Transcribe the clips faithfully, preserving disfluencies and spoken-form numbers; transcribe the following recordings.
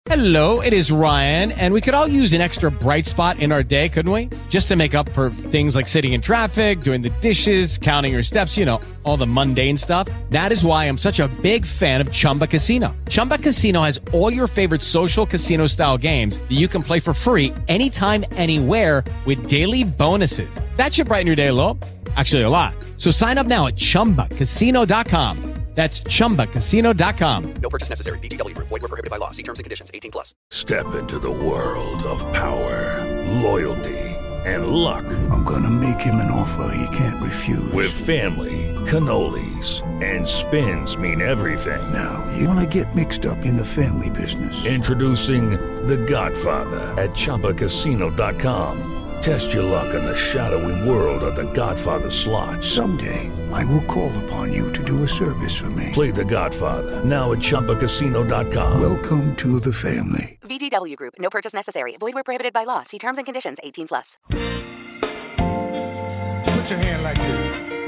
Hello, it is Ryan, and we could all use an extra bright spot in our day, couldn't we? Just to make up for things like sitting in traffic, doing the dishes, counting your steps, you know, all the mundane stuff. That is why I'm such a big fan of Chumba Casino. Chumba Casino has all your favorite social casino-style games that you can play for free anytime, anywhere with daily bonuses. That should brighten your day a little. Actually, a lot. So sign up now at chumba casino dot com. That's chumba casino dot com. No purchase necessary. V G W Group. Void where prohibited by law. See terms and conditions. eighteen plus. Step into the world of power, loyalty, and luck. I'm gonna make him an offer he can't refuse. With family, cannolis, and spins mean everything. Now, you wanna get mixed up in the family business. Introducing The Godfather at chumba casino dot com. Test your luck in the shadowy world of The Godfather slot. Someday, I will call upon you to do a service for me. Play The Godfather, now at chumba casino dot com. Welcome to the family. V G W Group. No purchase necessary. Void where prohibited by law. See terms and conditions. eighteen plus. Put your hand like this.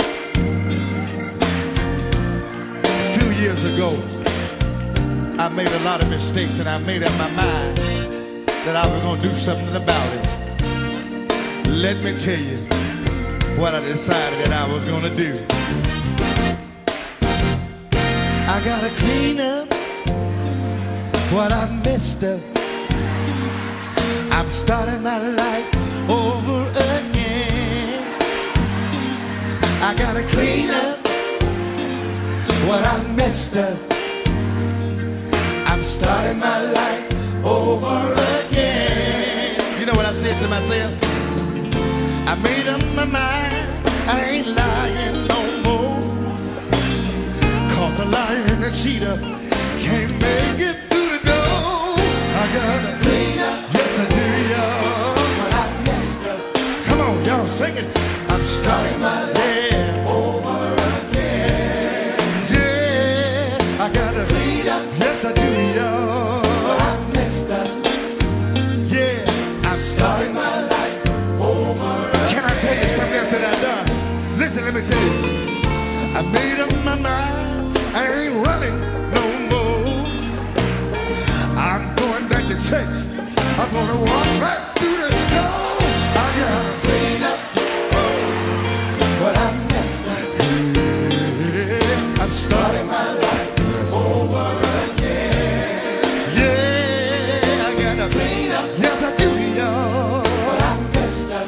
A few years ago, I made a lot of mistakes, and I made up my mind that I was going to do something about it. Let me tell you what I decided that I was going to do. I got to clean up what I messed up. I'm starting my life over again. I got to clean up what I messed up. I'm starting my life over again. You know what I said to myself? I made up my mind, I ain't lying no more. Cause a liar and a cheater can't make it through the door. I gotta clean up, yes I do, y'all. What I messed up. Come on, y'all sing it. I'm starting my life over again. Yeah, I gotta clean up, yes I do, y'all. What I messed up. Yeah, I'm starting my life. Listen, let me tell you, I made up my mind, I ain't running no more. I'm going back to church, I'm gonna walk right through the door. I gotta clean up what I messed up. Yeah, I'm starting my life over again. Yeah, I gotta clean up, yes I do, y'all. What I messed up.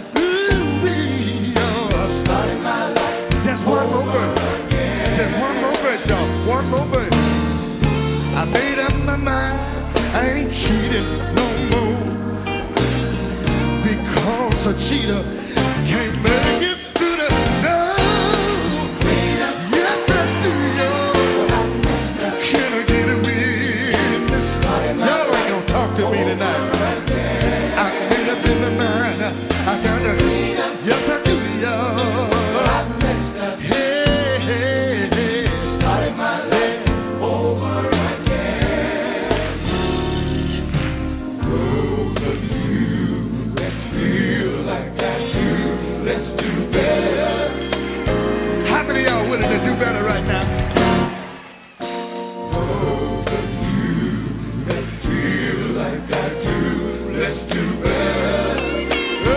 One more verse. I made up my mind, I ain't cheating no more. Because a cheater can't make it through the door. Yes, I do, y'all. Can I get a witness? Y'all ain't gonna talk to me tonight. I made up in my mind, I gotta, yes, I do, y'all. To do better right now. Those of you that feel like I do, let's do better. Oh,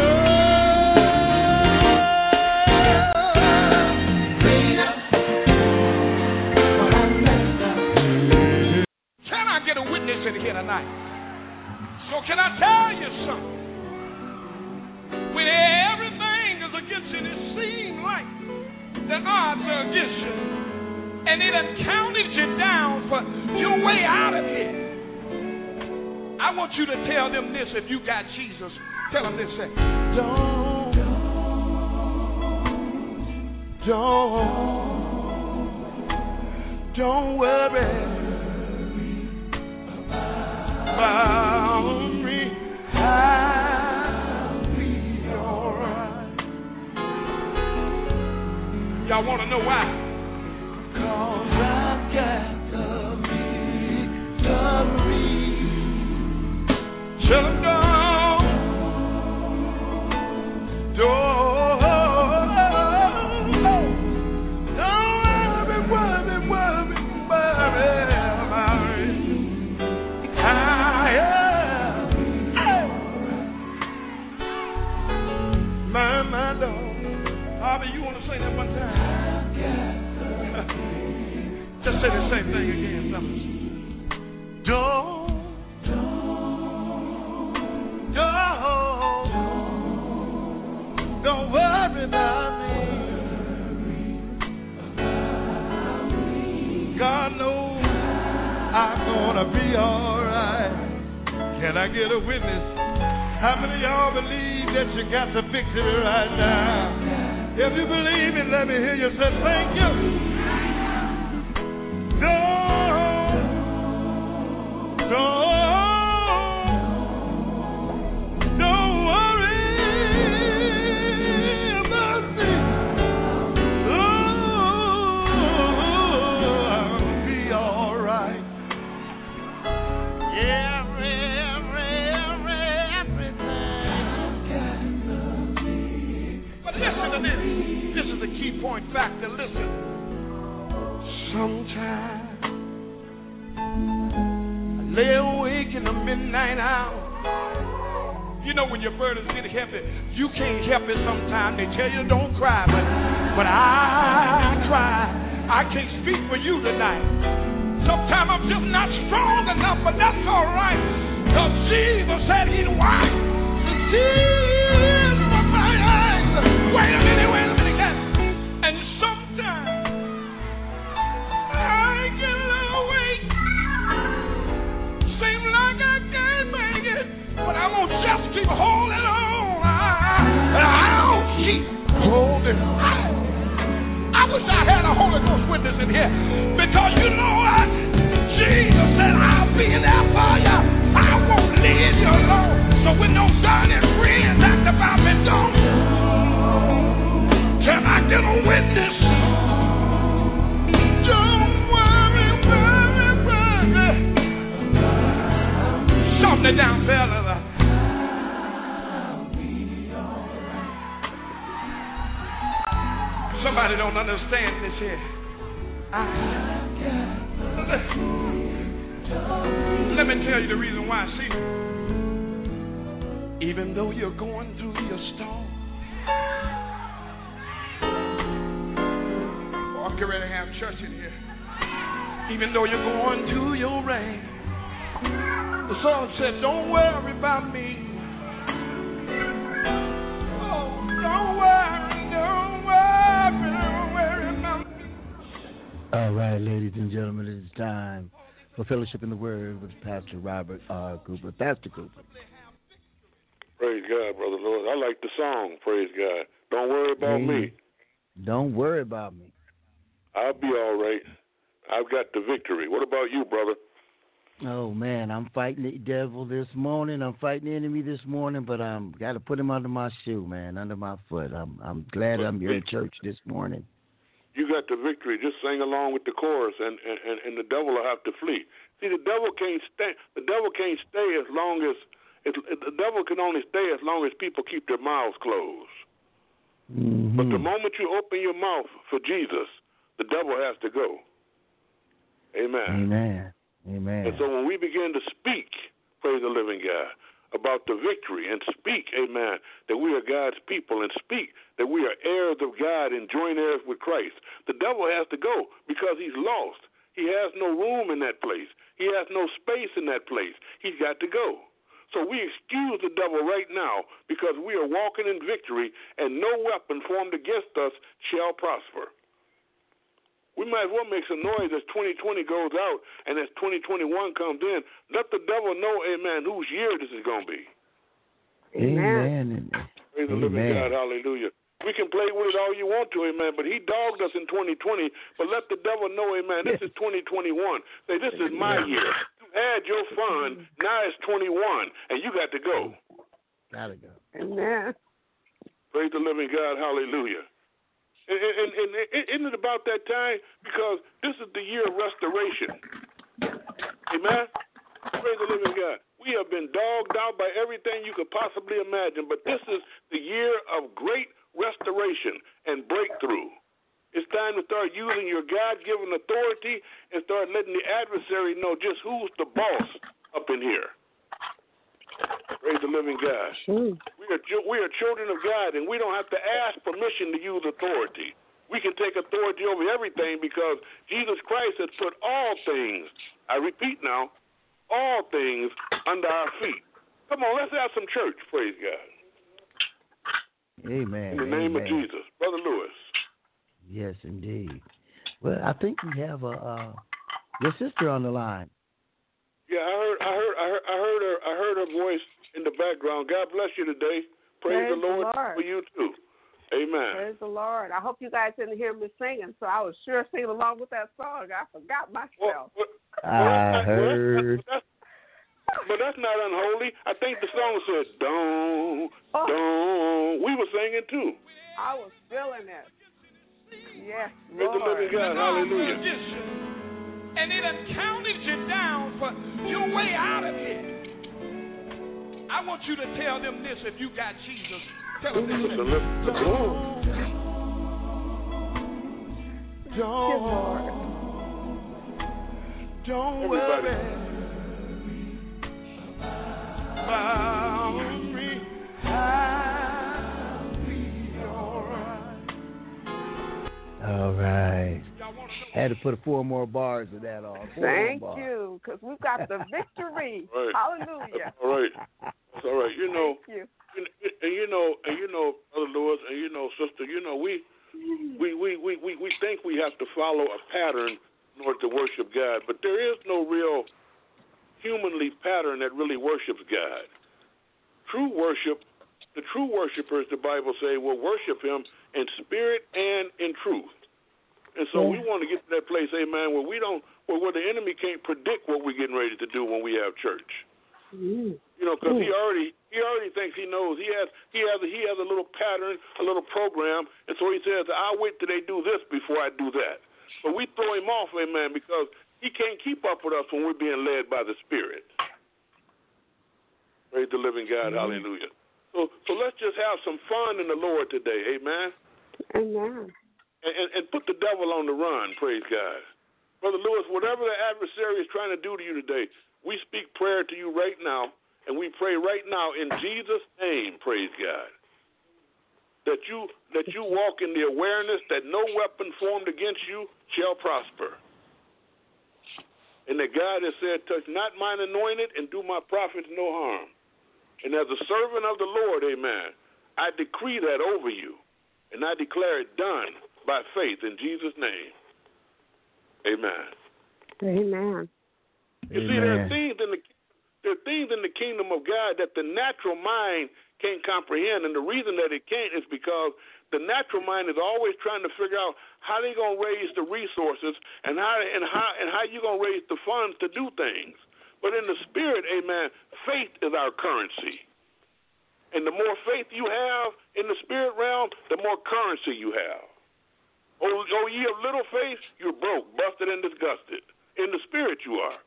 clean up what I messed up. Can I get a witness in here tonight? So can I tell you something? When everything is against you, it seems like the odds are against you, and it has counted you down for your way out of here. I want you to tell them this. If you got Jesus, tell them this. Say, don't, don't, don't worry about me. I'll be all right. Y'all want to know why? Cause I've got the victory. Tell them don't, don't, don't worry, worry, worry, worry about me. I say the same thing again, fellas. Don't, don't, don't, don't worry about me. God knows I'm gonna be alright. Can I get a witness? How many of y'all believe that you got the victory right now? If you believe it, let me hear you say thank you. Don't, don't, don't worry about me. Oh, I'll be all right. Yeah. Listen to this. This is the key point factor. Listen. Sometimes I lay awake in the midnight hour. You know when your burdens get heavy, you can't help it sometimes. They tell you don't cry, but, but I cry. I can't speak for you tonight. Sometimes I'm just not strong enough, but that's all right. Because Jesus said he'd wipe the tears from my eyes. Wait a minute, wait a minute, guys. And sometimes I get a little weak. Seems like I can't make it, but I'm gonna just keep holding on. I, I'll keep holding on. I wish I had a Holy Ghost witness in here, because you know what? Jesus said I'll be there for you. I won't leave you alone. So when those shining friends act about me, don't. Can I get a witness? Don't worry, worry, worry. Shout it down, fella. Somebody don't understand this here. I, let me tell you the reason why. See, even though you're going through your storm, I'm getting ready to have church in here. Even though you're going through your rain, the song said, don't worry about me. Oh, don't worry, don't worry, don't worry about me. All right, ladies and gentlemen, it's time for Fellowship in the Word with Pastor Robert R. Cooper. Pastor Cooper. Praise God, Brother Lord. I like the song, praise God. Don't worry about Amen. me. Don't worry about me. I'll be all right. I've got the victory. What about you, brother? Oh, man, I'm fighting the devil this morning. I'm fighting the enemy this morning, but I'm got to put him under my shoe, man, under my foot. I'm I'm glad I'm here in church this morning. You got the victory. Just sing along with the chorus, and, and, and the devil will have to flee. See, the devil can't stay. The devil can't stay as long as it, the devil can only stay as long as people keep their mouths closed. Mm-hmm. But the moment you open your mouth for Jesus, the devil has to go. Amen. Amen. Amen. And so when we begin to speak, praise the living God, about the victory, and speak, amen, that we are God's people, and speak that we are heirs of God and joint heirs with Christ, the devil has to go because he's lost. He has no room in that place. He has no space in that place. He's got to go. So we excuse the devil right now because we are walking in victory, and no weapon formed against us shall prosper. We might as well make some noise as twenty twenty goes out and as twenty twenty-one comes in. Let the devil know, amen, whose year this is going to be. Amen. Praise the living God, hallelujah. We can play with it all you want to, amen, but he dogged us in twenty twenty. But let the devil know, amen, this is twenty twenty-one. Say, this is my year. You had your fun, now it's twenty-one, and you got to go. Got to go. Amen. Praise the living God, hallelujah. And, and, and, and isn't it about that time? Because this is the year of restoration. Amen? Praise the living God. We have been dogged out by everything you could possibly imagine, but this is the year of great restoration and breakthrough. It's time to start using your God-given authority and start letting the adversary know just who's the boss up in here. Praise the living God. We are we are children of God, and we don't have to ask permission to use authority. we can take authority over everything because Jesus Christ has put all things, I repeat now, all things under our feet. Come on, let's have some church, praise God. Amen. In the name Amen. of Jesus. Brother Lewis. Yes, indeed. Well, I think we have a uh, your sister on the line. Yeah, I heard, I heard, I heard, I heard her, I heard her voice in the background. God bless you today. Praise, Praise the, Lord the Lord for you too. Amen. Praise the Lord. I hope you guys didn't hear me singing, so I was sure singing along with that song. I forgot myself. Well, well, I well, heard. Well, that's, that's, but that's not unholy. I think the song said, "Don't, oh. don't." We were singing too. I was feeling it. Yes, Praise Lord. the living God. Hallelujah. And it done counted you down for your way out of here. I want you to tell them this if you got Jesus. Tell them this. The lift, the don't, don't, don't Everybody. worry about me. I'll be all right. All right. Had to put four more bars of that on. Four Thank you, because we've got the victory. Right. Hallelujah. All right. That's all right. You know, Thank you. and you know, and you know, Brother Lewis, and you know, sister, you know, we, we, we, we, we, we think we have to follow a pattern in order to worship God, but there is no real humanly pattern that really worships God. True worship, the true worshipers, the Bible say, will worship Him in spirit and in truth. And so yeah. we want to get to that place, amen, where we don't, where, where the enemy can't predict what we're getting ready to do when we have church. Mm. You know, because he already he already thinks he knows. He has he has a, he has a little pattern, a little program, and so he says, "I'll wait till they do this before I do that." But we throw him off, amen, because he can't keep up with us when we're being led by the Spirit. Praise the living God, mm-hmm. Hallelujah. So so let's just have some fun in the Lord today, amen. Amen. And, and, and put the devil on the run, praise God. Brother Lewis, whatever the adversary is trying to do to you today, we speak prayer to you right now, and we pray right now in Jesus' name, praise God, that you that you walk in the awareness that no weapon formed against you shall prosper. And that God has said, touch not mine anointed and do my prophets no harm. And as a servant of the Lord, amen, I decree that over you, and I declare it done by faith in Jesus' name. Amen. Amen. You Amen. see, there are things in the there are things in the kingdom of God that the natural mind can't comprehend, and the reason that it can't is because the natural mind is always trying to figure out how they're gonna raise the resources and how and how and how you're gonna raise the funds to do things. But in the spirit, amen, faith is our currency. And the more faith you have in the spirit realm, the more currency you have. Oh, oh, ye of little faith, you're broke, busted, and disgusted. In the spirit you are.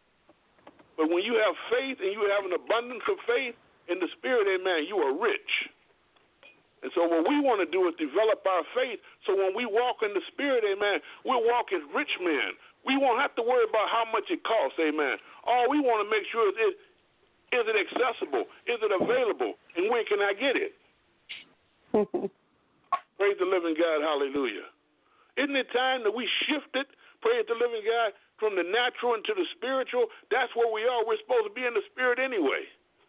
But when you have faith and you have an abundance of faith in the spirit, amen, you are rich. And so what we want to do is develop our faith so when we walk in the spirit, amen, we'll walk as rich men. We won't have to worry about how much it costs, amen. All we want to make sure is, is, is it accessible? Is it available? And when can I get it? Praise the living God, hallelujah. Isn't it time that we shifted, praise the living God, from the natural into the spiritual? That's where we are. We're supposed to be in the spirit anyway.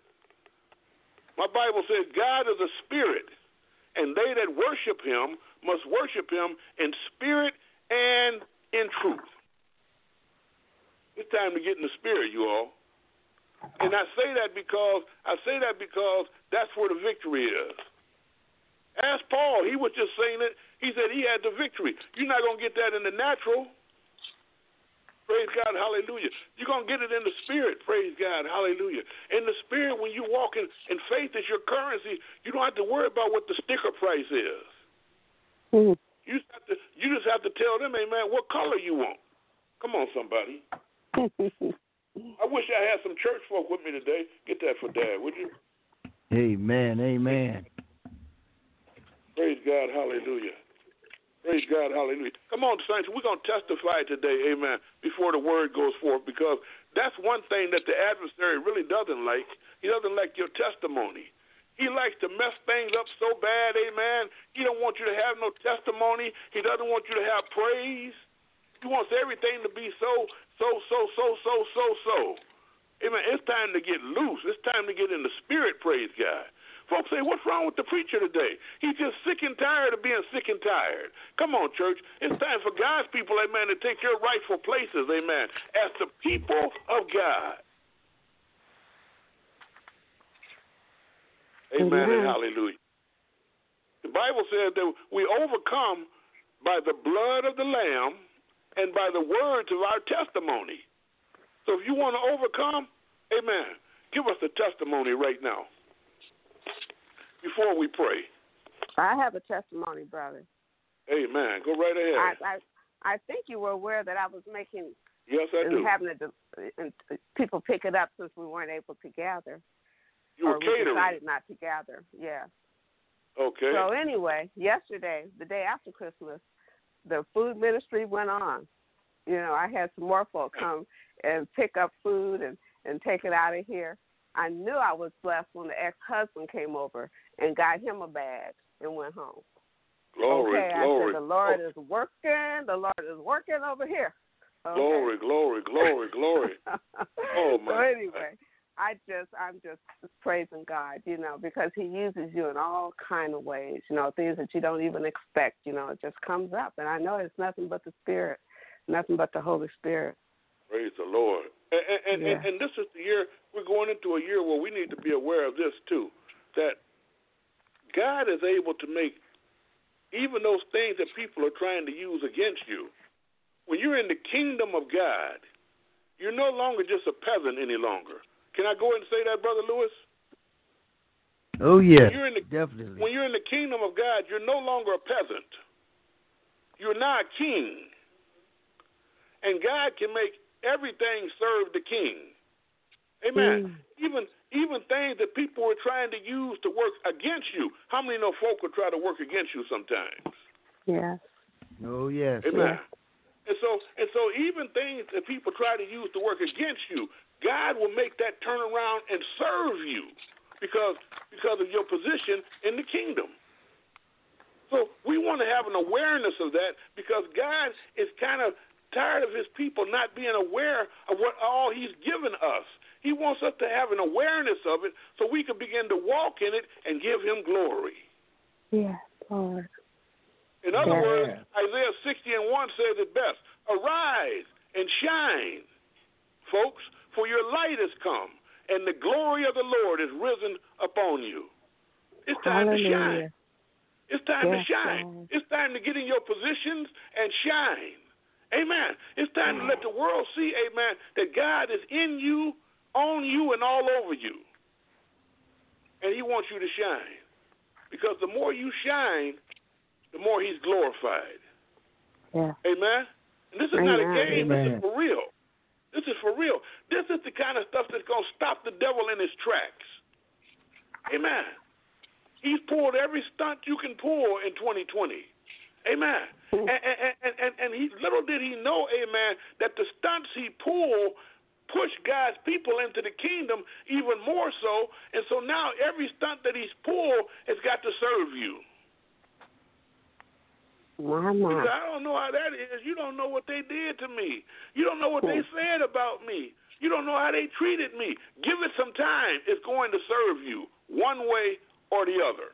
My Bible says God is a spirit, and they that worship him must worship him in spirit and in truth. It's time to get in the spirit, you all. And I say that because I say that because that's where the victory is. Ask Paul. He was just saying it. He said he had the victory. You're not going to get that in the natural. Praise God, hallelujah. You're going to get it in the spirit. Praise God, hallelujah. In the spirit, when you walk in, in faith is your currency, you don't have to worry about what the sticker price is. Mm-hmm. You, just have to, you just have to tell them, amen, what color you want. Come on, somebody. I wish I had some church folk with me today. Get that for Dad, would you? Amen, amen. Praise God, hallelujah. Praise God, hallelujah. Come on, saints, we're going to testify today, amen, before the word goes forth, because that's one thing that the adversary really doesn't like. He doesn't like your testimony. He likes to mess things up so bad, amen. He don't want you to have no testimony. He doesn't want you to have praise. He wants everything to be so, so, so, so, so, so, so. Amen. It's time to get loose. It's time to get in the spirit, praise God. Folks say, what's wrong with the preacher today? He's just sick and tired of being sick and tired. Come on, church. It's time for God's people, amen, to take your rightful places, amen, as the people of God. Amen mm-hmm. and hallelujah. The Bible says that we overcome by the blood of the Lamb and by the words of our testimony. So if you want to overcome, amen, give us a testimony right now before we pray. I have a testimony, brother. Amen. Go right ahead. I I, I think you were aware that I was making yes, I and do. having a, and people pick it up since we weren't able to gather. You were or catering. We decided not to gather. Yeah. Okay. So anyway, yesterday, the day after Christmas, the food ministry went on. You know, I had some more folk come and pick up food and, and take it out of here. I knew I was blessed when the ex-husband came over and got him a bag and went home. Glory, okay, glory. I said, the Lord is working. The Lord is working over here. Okay. Glory, glory, glory, glory. Oh, my. So anyway, I just, I'm just praising God, you know, because he uses you in all kind of ways, you know, things that you don't even expect, you know, it just comes up. And I know it's nothing but the Spirit, nothing but the Holy Spirit. Praise the Lord. And, and, yeah. and, and this is the year, we're going into a year where we need to be aware of this too, that God is able to make even those things that people are trying to use against you. When you're in the kingdom of God, you're no longer just a peasant any longer. Can I go ahead and say that, Brother Lewis? Oh, yeah, when the, definitely. When you're in the kingdom of God, you're no longer a peasant. You're now a king. And God can make everything serve the king. Amen. Mm. Even even things that people were trying to use to work against you. How many know folk will try to work against you sometimes? Yes. Oh, yes. Amen. Yes. And so and so even things that people try to use to work against you, God will make that turn around and serve you because because of your position in the kingdom. So we want to have an awareness of that because God is kind of tired of his people not being aware of what all he's given us. He wants us to have an awareness of it so we can begin to walk in it and give him glory. Yes, Lord. In other yeah. words, Isaiah sixty and one says it best. Arise and shine, folks, for your light has come, and the glory of the Lord is risen upon you. It's time Hallelujah. to shine. It's time yes, to shine. Lord. It's time to get in your positions and shine. Amen. It's time to let the world see, amen, that God is in you, on you, and all over you. And he wants you to shine. Because the more you shine, the more he's glorified. Yeah. Amen? And this is Amen. not a game. Amen. This is for real. This is for real. This is the kind of stuff that's going to stop the devil in his tracks. Amen. He's pulled every stunt you can pull in twenty twenty. Amen. And, and, and, and, and he little did he know, amen, that the stunts he pulled pushed God's people into the kingdom even more so. And so now every stunt that he's pulled has got to serve you. My, my. I don't know how that is. You don't know what they did to me. You don't know what they said about me. You don't know how they treated me. Give it some time. It's going to serve you one way or the other.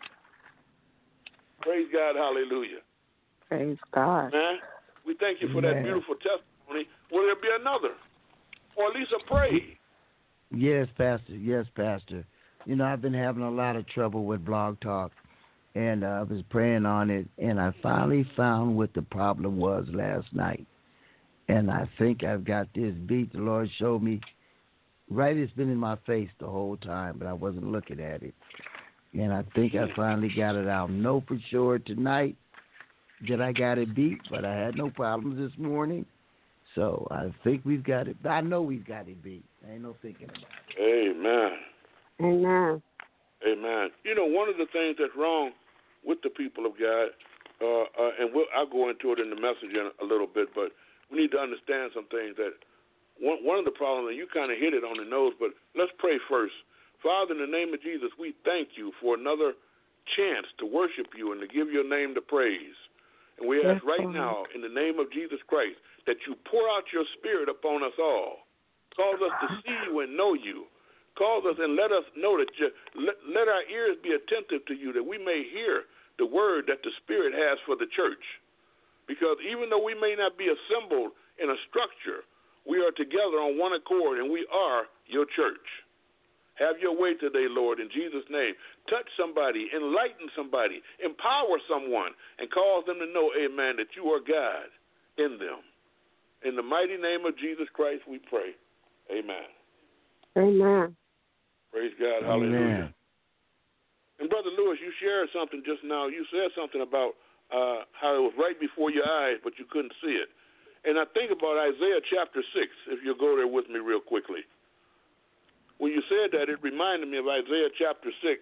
Praise God. Hallelujah. Praise God. Man, we thank you for that beautiful testimony. Will there be another? Or at least a praise? Yes, Pastor. Yes, Pastor. You know, I've been having a lot of trouble with Blog Talk, and uh, I was praying on it, and I finally found what the problem was last night. And I think I've got this beat. The Lord showed me. Right, it's been in my face the whole time, but I wasn't looking at it. And I think I finally got it out. Know for sure tonight that I got it beat, but I had no problems this morning. So I think we've got it. I know we've got it beat. I ain't no thinking about it. Amen. Amen. Amen. You know, one of the things that's wrong with the people of God, uh, uh, and we'll, I'll go into it in the message in a little bit, but we need to understand some things that one, one of the problems, and you kind of hit it on the nose, but let's pray first Father, in the name of Jesus, we thank you for another chance to worship you and to give your name the praise. And we ask right now, in the name of Jesus Christ, that you pour out your spirit upon us all. Cause us to see you and know you. Cause us and let us know that you, let, let our ears be attentive to you, that we may hear the word that the Spirit has for the church. Because even though we may not be assembled in a structure, we are together on one accord, and we are your church. Have your way today, Lord, in Jesus' name. Touch somebody, enlighten somebody, empower someone, and cause them to know, amen, that you are God in them. In the mighty name of Jesus Christ, we pray. Amen. Amen. Praise God. Amen. Hallelujah. And Brother Lewis, you shared something just now. You said something about uh, how it was right before your eyes, but you couldn't see it. And I think about Isaiah chapter six, if you'll go there with me real quickly. When you said that, it reminded me of Isaiah chapter six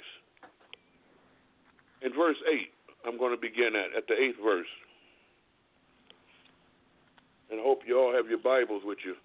and verse eight. I'm going to begin at, at the eighth verse. And I hope you all have your Bibles with you.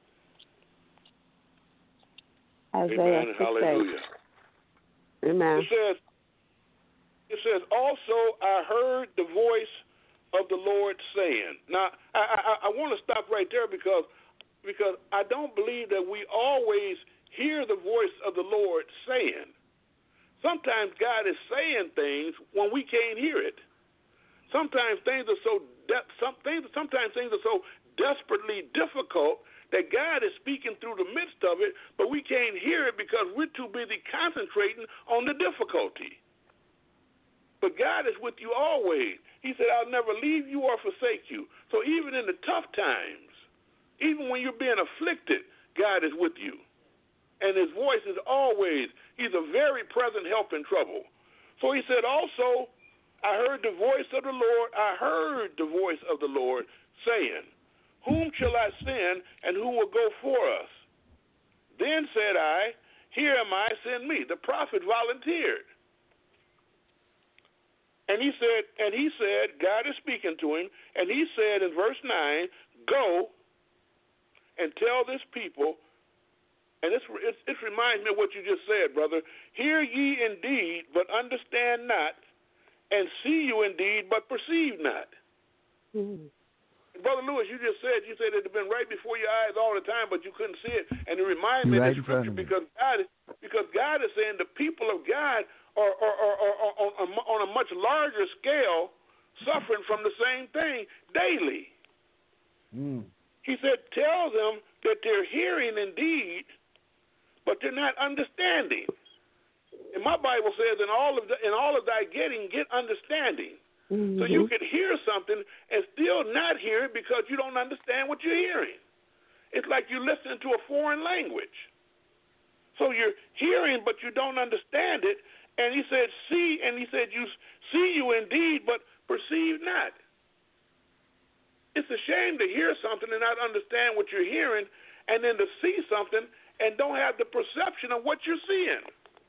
Isaiah Amen and hallelujah. Amen. It says, it says, also I heard the voice of the Lord saying. Now, I, I, I want to stop right there because, because I don't believe that we always hear the voice of the Lord saying. Sometimes God is saying things when we can't hear it. Sometimes things are so de- some things, sometimes things are so desperately difficult that God is speaking through the midst of it, but we can't hear it because we're too busy concentrating on the difficulty. But God is with you always. He said, I'll never leave you or forsake you. So even in the tough times, even when you're being afflicted, God is with you. And his voice is always, he's a very present help in trouble. So he said, also, I heard the voice of the Lord, I heard the voice of the Lord saying, whom shall I send, and who will go for us? Then said I, here am I, send me. The prophet volunteered. And he said, and he said, God is speaking to him, and he said in verse nine, go and tell this people, and this it, it reminds me of what you just said, brother. Hear ye indeed, but understand not, and see you indeed, but perceive not. Mm-hmm. Brother Lewis, you just said, you said it had been right before your eyes all the time, but you couldn't see it. And it reminded me right of the scripture because God, because God is saying the people of God are, are, are, are, are on, on a much larger scale suffering from the same thing daily. Mm. He said, tell them that they're hearing indeed, but they're not understanding. And my Bible says, in all of the, in all of thy getting, get understanding. Mm-hmm. So you could hear something and still not hear it because you don't understand what you're hearing. It's like you're listening to a foreign language. So you're hearing, but you don't understand it. And he said, see, and he said, you see you indeed, but perceive not. It's a shame to hear something and not understand what you're hearing, and then to see something and don't have the perception of what you're seeing.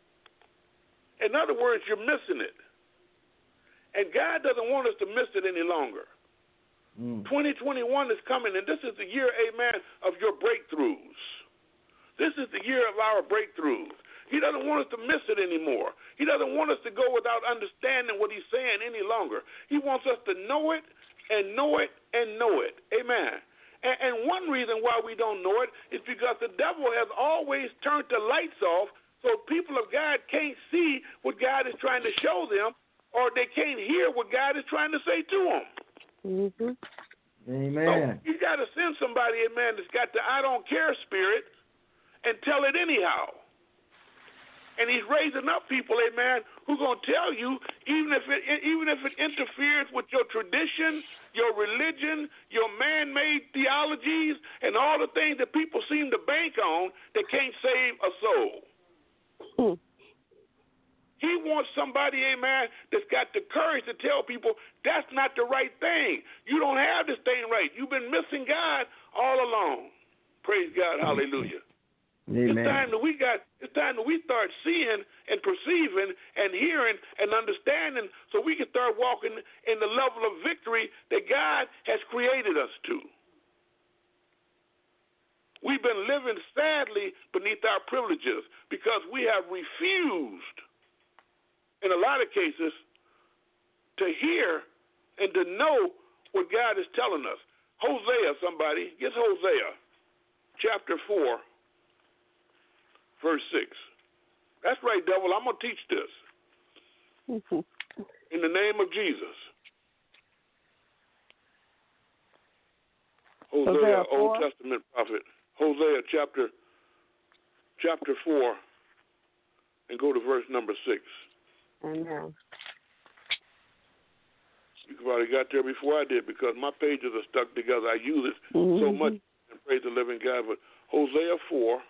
In other words, you're missing it. And God doesn't want us to miss it any longer. Mm. twenty twenty-one is coming, and this is the year, amen, of your breakthroughs. This is the year of our breakthroughs. He doesn't want us to miss it anymore. He doesn't want us to go without understanding what he's saying any longer. He wants us to know it and know it and know it. Amen. And, and one reason why we don't know it is because the devil has always turned the lights off so people of God can't see what God is trying to show them, or they can't hear what God is trying to say to them. Mm-hmm. Amen. So you got to send somebody, amen, that's got the I don't care spirit and tell it anyhow. And he's raising up people, amen, who are going to tell you, even if it even if it interferes with your tradition, your religion, your man-made theologies, and all the things that people seem to bank on that can't save a soul. Mm. He wants somebody, amen, that's got the courage to tell people that's not the right thing. You don't have this thing right. You've been missing God all along. Praise God. Hallelujah. Amen. It's time that we got. It's time that we start seeing and perceiving and hearing and understanding, so we can start walking in the level of victory that God has created us to. We've been living sadly beneath our privileges because we have refused, in a lot of cases, to hear and to know what God is telling us. Hosea, somebody, get Hosea, chapter four, verse six. That's right, devil, I'm going to teach this. In the name of Jesus. Hosea, Hosea Old Testament prophet. Hosea chapter chapter four, and go to verse number six. Amen. You probably got there before I did because my pages are stuck together. I use it mm-hmm. so much and praise the living God. But Hosea four,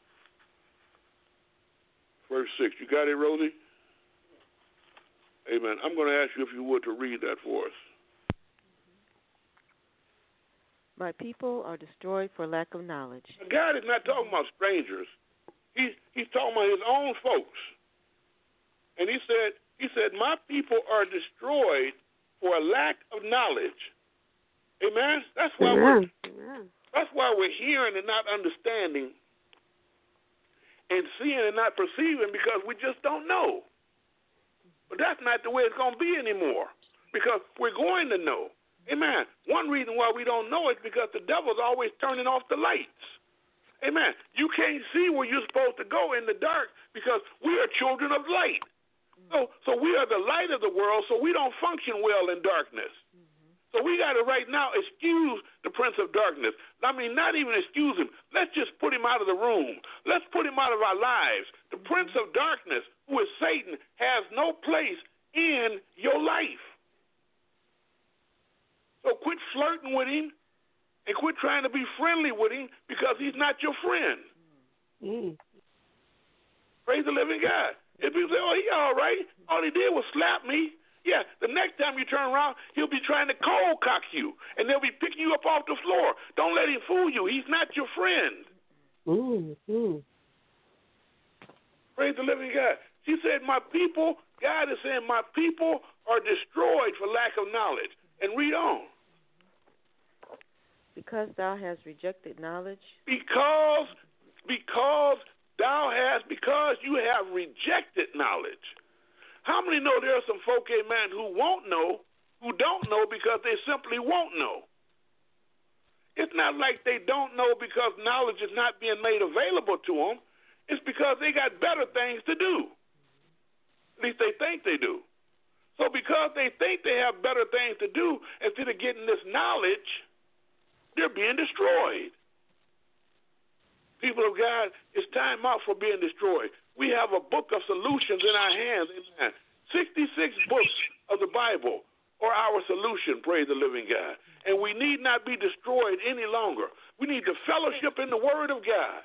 verse six. You got it, Rosie? Amen. I'm going to ask you if you would to read that for us. My people are destroyed for lack of knowledge. God is not talking about strangers. He's he's talking about his own folks. And he said, he said, my people are destroyed for a lack of knowledge. Amen. That's why we're that's why we're hearing and not understanding, and seeing and not perceiving, because we just don't know. But that's not the way it's going to be anymore, because we're going to know. Amen. One reason why we don't know is because the devil's always turning off the lights. Amen. You can't see where you're supposed to go in the dark because we are children of light. So, so we are the light of the world, so we don't function well in darkness. So we got to right now excuse the prince of darkness. I mean, not even excuse him. Let's just put him out of the room. Let's put him out of our lives. The prince of darkness, who is Satan, has no place in your life. So quit flirting with him and quit trying to be friendly with him because he's not your friend. Mm. Praise the living God. If people say, oh, he all right, all he did was slap me. Yeah, the next time you turn around, he'll be trying to cold cock you, and they'll be picking you up off the floor. Don't let him fool you. He's not your friend. Mm, mm. Praise the living God. She said, my people, God is saying, my people are destroyed for lack of knowledge. And read on. Because thou hast rejected knowledge. Because, because thou hast, because you have rejected knowledge. How many know there are some folk, amen, who won't know, who don't know because they simply won't know? It's not like they don't know because knowledge is not being made available to them. It's because they got better things to do. At least they think they do. So because they think they have better things to do, instead of getting this knowledge, they're being destroyed. People of God, it's time out for being destroyed. We have a book of solutions in our hands. Amen. sixty-six books of the Bible are our solution, praise the living God. And we need not be destroyed any longer. We need to fellowship in the Word of God.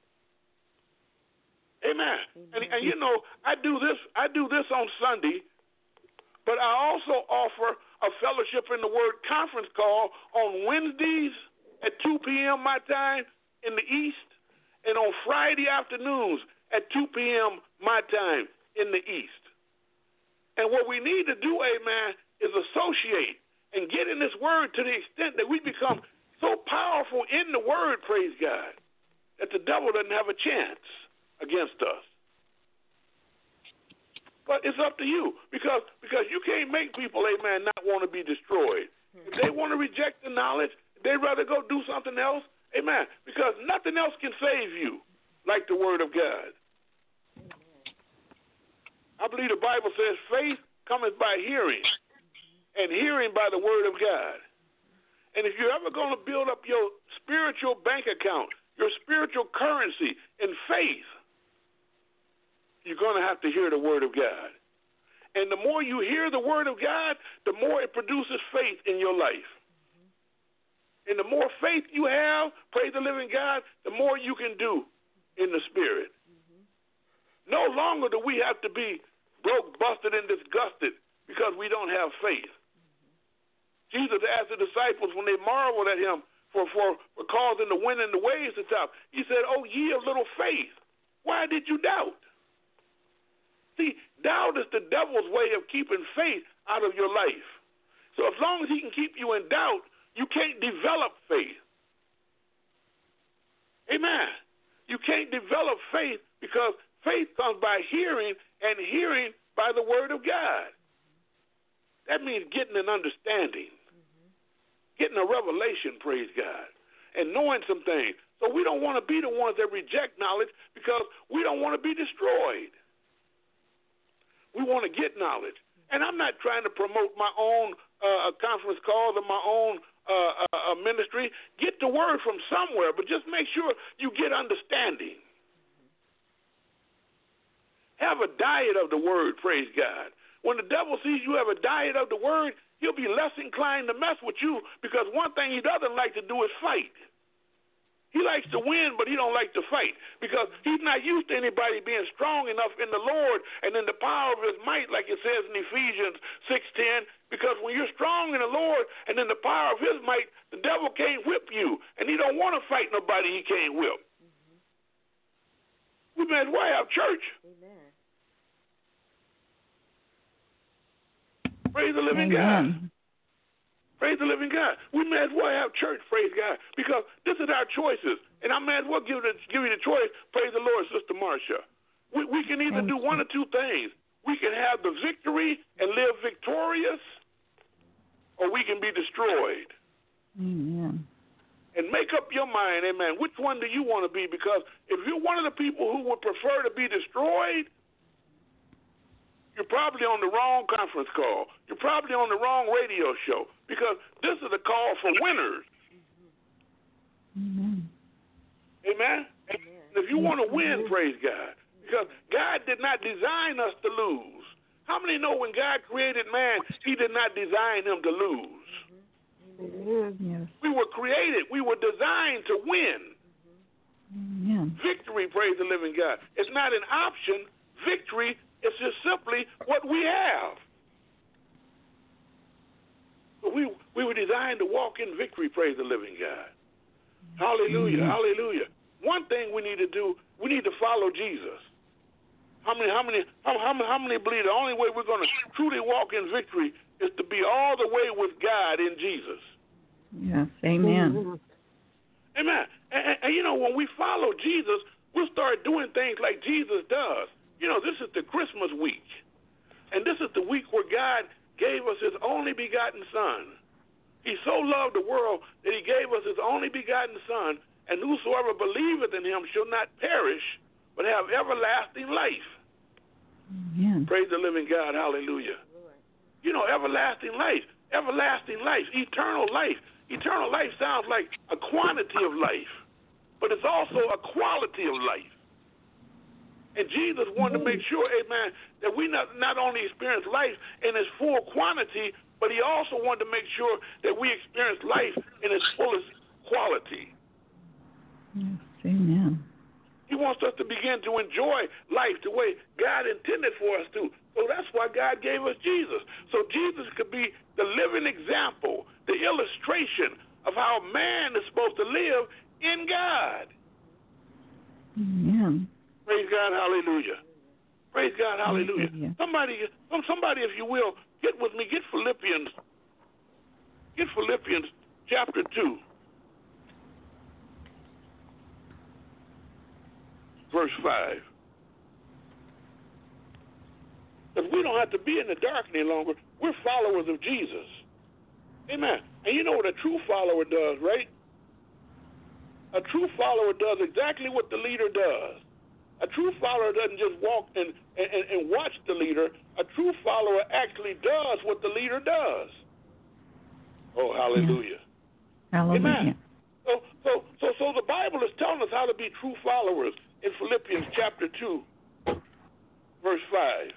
Amen. And, and you know, I do this, I do this on Sunday. But I also offer a fellowship in the Word conference call on Wednesdays at two p.m. my time in the East, and on Friday afternoons at two p.m. my time in the East. And what we need to do, amen, is associate and get in this Word to the extent that we become so powerful in the Word, praise God, that the devil doesn't have a chance against us. But it's up to you, because because you can't make people, amen, not want to be destroyed. If they want to reject the knowledge, they'd rather go do something else, amen, because nothing else can save you like the Word of God. I believe the Bible says faith cometh by hearing, and hearing by the Word of God. And if you're ever going to build up your spiritual bank account, your spiritual currency in faith, you're going to have to hear the Word of God. And the more you hear the Word of God, the more it produces faith in your life. And the more faith you have, praise the living God, the more you can do in the Spirit. No longer do we have to be broke, busted, and disgusted because we don't have faith. Jesus asked the disciples when they marveled at him for, for, for causing the wind and the waves to stop, he said, oh, ye of little faith, why did you doubt? See, doubt is the devil's way of keeping faith out of your life. So as long as he can keep you in doubt, you can't develop faith. Amen. You can't develop faith because faith comes by hearing, and hearing by the word of God. That means getting an understanding, mm-hmm. getting a revelation, praise God, and knowing some things. So we don't want to be the ones that reject knowledge because we don't want to be destroyed. We want to get knowledge. And I'm not trying to promote my own uh, conference calls or my own uh, uh, ministry. Get the word from somewhere, but just make sure you get understanding. Have a diet of the word, praise God. When the devil sees you have a diet of the word, he'll be less inclined to mess with you because one thing he doesn't like to do is fight. He likes to win, but he don't like to fight because he's not used to anybody being strong enough in the Lord and in the power of his might, like it says in Ephesians six ten, because when you're strong in the Lord and in the power of his might, the devil can't whip you, and he don't want to fight nobody he can't whip. Mm-hmm. We may as well have church. Amen. Praise the living Amen. God. Praise the living God. We may as well have church, praise God, because this is our choices. And I may as well give, it, give you the choice, praise the Lord, Sister Marcia. We, we can either do one or two things. We can have the victory and live victorious, or we can be destroyed. Amen. And make up your mind, amen, which one do you want to be? Because if you're one of the people who would prefer to be destroyed, you're probably on the wrong conference call. You're probably on the wrong radio show because this is a call for winners. Amen. Amen? Amen. And if you want to win, praise God, because God did not design us to lose. How many know when God created man, he did not design him to lose? Mm-hmm. Yes. We were created. We were designed to win. Amen. Victory, praise the living God. It's not an option. Victory it's just simply what we have. We we were designed to walk in victory, praise the living God. Hallelujah, mm-hmm. hallelujah. One thing we need to do, we need to follow Jesus. How many, how many, how, how, how many believe the only way we're going to truly walk in victory is to be all the way with God in Jesus? Yes, amen. Amen. And, and, and you know, when we follow Jesus, we'll start doing things like Jesus does. You know, this is the Christmas week, and this is the week where God gave us his only begotten Son. He so loved the world that he gave us his only begotten Son, and whosoever believeth in him shall not perish, but have everlasting life. Amen. Praise the living God, hallelujah. You know, everlasting life, everlasting life, eternal life. Eternal life sounds like a quantity of life, but it's also a quality of life. And Jesus wanted to make sure, amen, that we not, not only experience life in its full quantity, but he also wanted to make sure that we experience life in its fullest quality. Yes, amen. He wants us to begin to enjoy life the way God intended for us to. So that's why God gave us Jesus. So Jesus could be the living example, the illustration of how man is supposed to live in God. Amen. Praise God, hallelujah. Praise God, hallelujah. hallelujah. Somebody, somebody, if you will, get with me, get Philippians, get Philippians chapter two, verse five. Because we don't have to be in the dark any longer. We're followers of Jesus. Amen. And you know what a true follower does, right? A true follower does exactly what the leader does. A true follower doesn't just walk and, and, and watch the leader. A true follower actually does what the leader does. Oh, hallelujah. Yeah. Hallelujah. Amen. So, so, so, so the Bible is telling us how to be true followers in Philippians chapter two, verse five.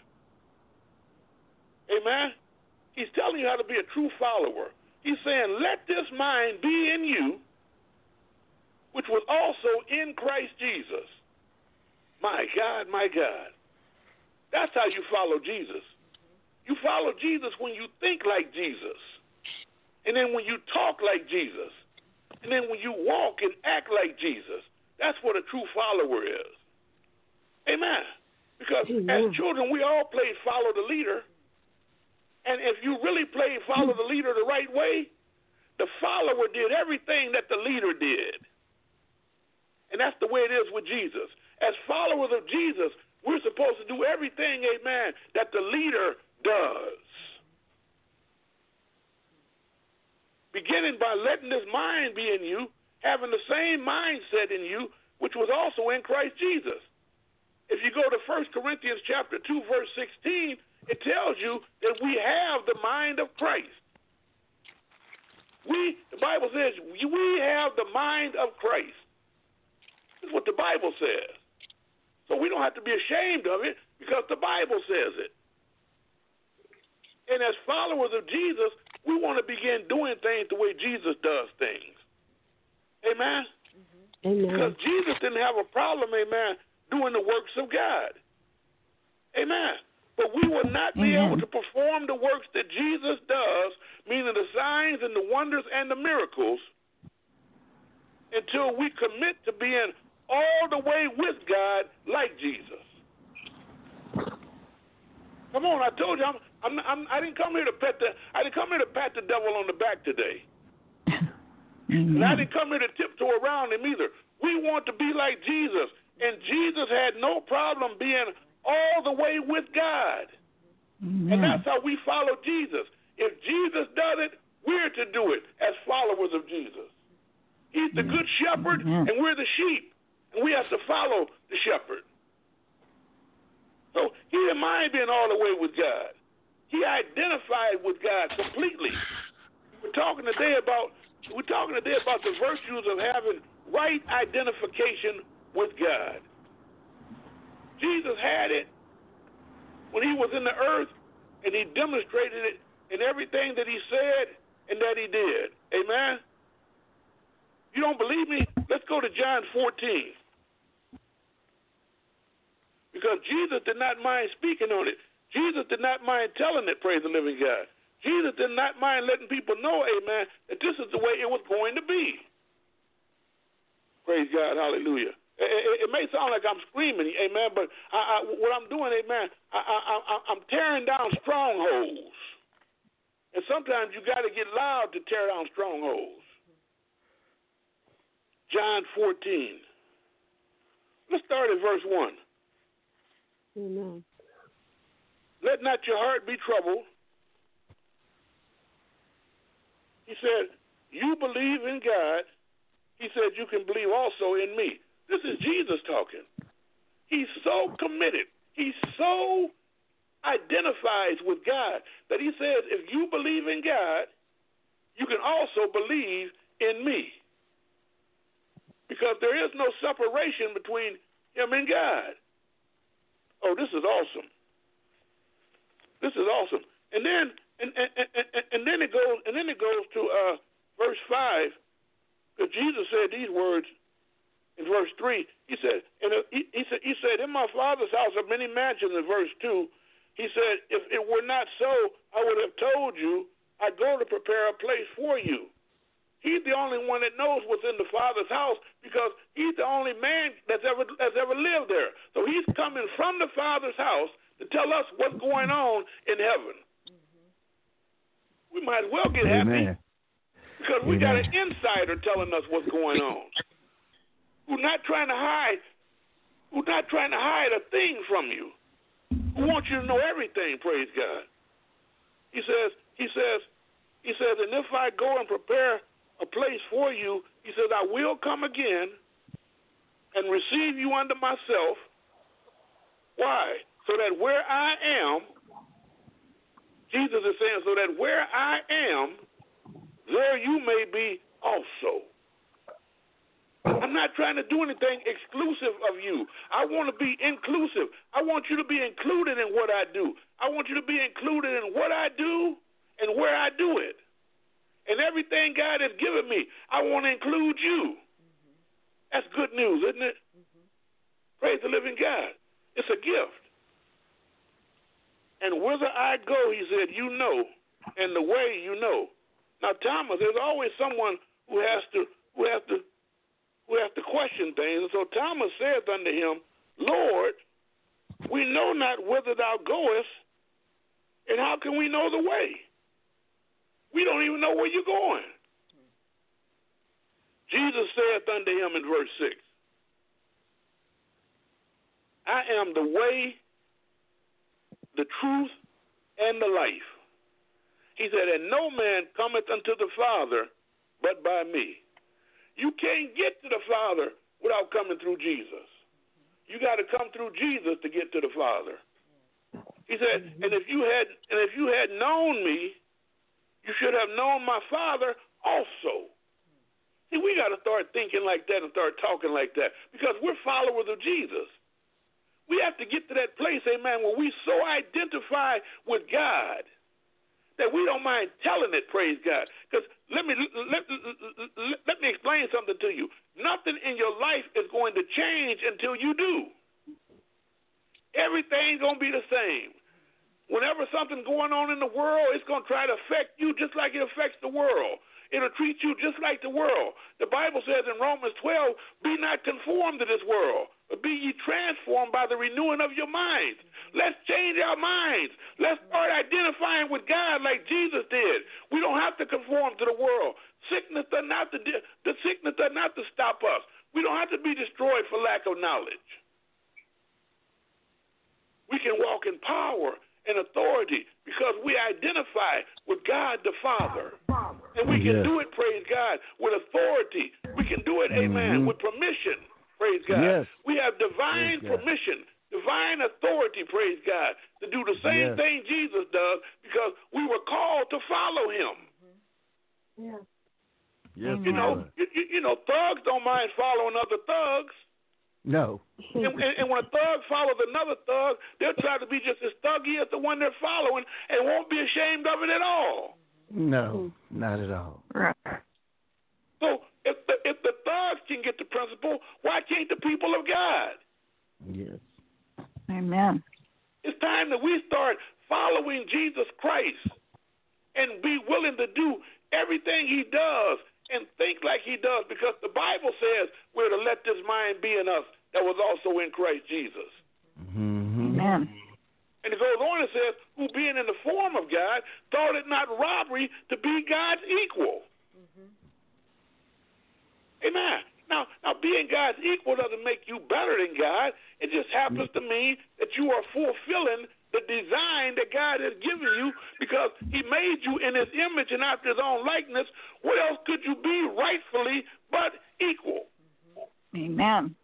Amen? He's telling you how to be a true follower. He's saying, let this mind be in you, which was also in Christ Jesus. My God, my God. That's how you follow Jesus. You follow Jesus when you think like Jesus. And then when you talk like Jesus. And then when you walk and act like Jesus. That's what a true follower is. Amen. Because Amen. As children, we all played follow the leader. And if you really played follow the leader the right way, the follower did everything that the leader did. And that's the way it is with Jesus. As followers of Jesus, we're supposed to do everything, amen, that the leader does. Beginning by letting this mind be in you, having the same mindset in you, which was also in Christ Jesus. If you go to First Corinthians chapter two, verse sixteen, it tells you that we have the mind of Christ. We, the Bible says, we have the mind of Christ. That's what the Bible says. So we don't have to be ashamed of it because the Bible says it. And as followers of Jesus, we want to begin doing things the way Jesus does things. Amen? Mm-hmm. Amen. Because Jesus didn't have a problem, amen, doing the works of God. Amen. But we will not be Amen. able to perform the works that Jesus does, meaning the signs and the wonders and the miracles, until we commit to being all the way with God like Jesus. Come on, I told you, I'm, I'm, I'm, I didn't come here to pet the, I didn't come here to pat the devil on the back today. And I didn't come here to tiptoe around him either. We want to be like Jesus, and Jesus had no problem being all the way with God. Amen. And that's how we follow Jesus. If Jesus does it, we're to do it as followers of Jesus. He's the good shepherd, Amen. and we're the sheep, and we have to follow the shepherd. So he didn't mind being all the way with God. He identified with God completely. We're talking today about we're talking today about the virtues of having right identification with God. Jesus had it when he was in the earth, and he demonstrated it in everything that he said and that he did. Amen? You don't believe me? Let's go to John fourteen. Because Jesus did not mind speaking on it. Jesus did not mind telling it, praise the living God. Jesus did not mind letting people know, amen, that this is the way it was going to be. Praise God, hallelujah. It, it, it may sound like I'm screaming, amen, but I, I, what I'm doing, amen, I, I, I, I'm tearing down strongholds. And sometimes you got to get loud to tear down strongholds. John fourteen. Let's start at verse one. Amen. Let not your heart be troubled. He said, you believe in God. He said, you can believe also in me. This is Jesus talking. He's so committed. He so identifies with God that he says, if you believe in God, you can also believe in me. Because there is no separation between him and God. Oh, this is awesome. This is awesome. And then and, and, and, and then it goes and then it goes to uh, verse five, because Jesus said these words in verse three. He said, and he, he said, he said, in my Father's house are many mansions. In verse two, he said, if it were not so, I would have told you. I go to prepare a place for you. He's the only one that knows what's in the Father's house because he's the only man that's ever that's ever lived there. So he's coming from the Father's house to tell us what's going on in heaven. We might as well get Amen. happy because we Amen. got an insider telling us what's going on. Who's not trying to hide, who's not trying to hide a thing from you. Who wants you to know everything, praise God. He says, he says, he says, and if I go and prepare a place for you, he says, I will come again and receive you unto myself. Why? So that where I am, Jesus is saying, so that where I am, there you may be also. I'm not trying to do anything exclusive of you. I want to be inclusive. I want you to be included in what I do. I want you to be included in what I do and where I do it. And everything God has given me, I want to include you. Mm-hmm. That's good news, isn't it? Mm-hmm. Praise the living God. It's a gift. And whither I go, he said, you know, and the way you know. Now, Thomas, there's always someone who has to who has to who has to question things. And so Thomas saith unto him, Lord, we know not whither thou goest, and how can we know the way? We don't even know where you're going. Jesus saith unto him in verse six, I am the way, the truth, and the life. He said, and no man cometh unto the Father but by me. You can't get to the Father without coming through Jesus. You got to come through Jesus to get to the Father. He said, and if you had and if you had known me, you should have known my Father also. See, we got to start thinking like that and start talking like that because we're followers of Jesus. We have to get to that place, amen, where we so identify with God that we don't mind telling it, praise God. Because let me let, let, let me explain something to you. Nothing in your life is going to change until you do. Everything's going to be the same. Whenever something's going on in the world, it's going to try to affect you just like it affects the world. It'll treat you just like the world. The Bible says in Romans twelve, be not conformed to this world, but be ye transformed by the renewing of your minds. Let's change our minds. Let's start identifying with God like Jesus did. We don't have to conform to the world. Sickness does not to, the sickness does not to stop us. We don't have to be destroyed for lack of knowledge. We can walk in power and authority because we identify with God the Father. And we can yes. do it, praise God, with authority. We can do it, amen, mm-hmm. with permission, praise God. Yes. We have divine permission, divine authority, praise God, to do the same yes. thing Jesus does because we were called to follow him. Yeah. Yes, you know, you, you know, thugs don't mind following other thugs. No. and, and, and when a thug follows another thug, they'll try to be just as thuggy as the one they're following and won't be ashamed of it at all. No, not at all. Right. So if the, if the thugs can get the principle, why can't the people of God? Yes. Amen. It's time that we start following Jesus Christ and be willing to do everything he does and think like he does, because the Bible says we're to let this mind be in us that was also in Christ Jesus. Mm-hmm. Amen. And it goes on and says, who being in the form of God, thought it not robbery to be God's equal. Mm-hmm. Amen. Now, now, being God's equal doesn't make you better than God. It just happens to mean that you are fulfilling the design that God has given you because he made you in his image and after his own likeness. What else could you be rightfully but equal? Amen.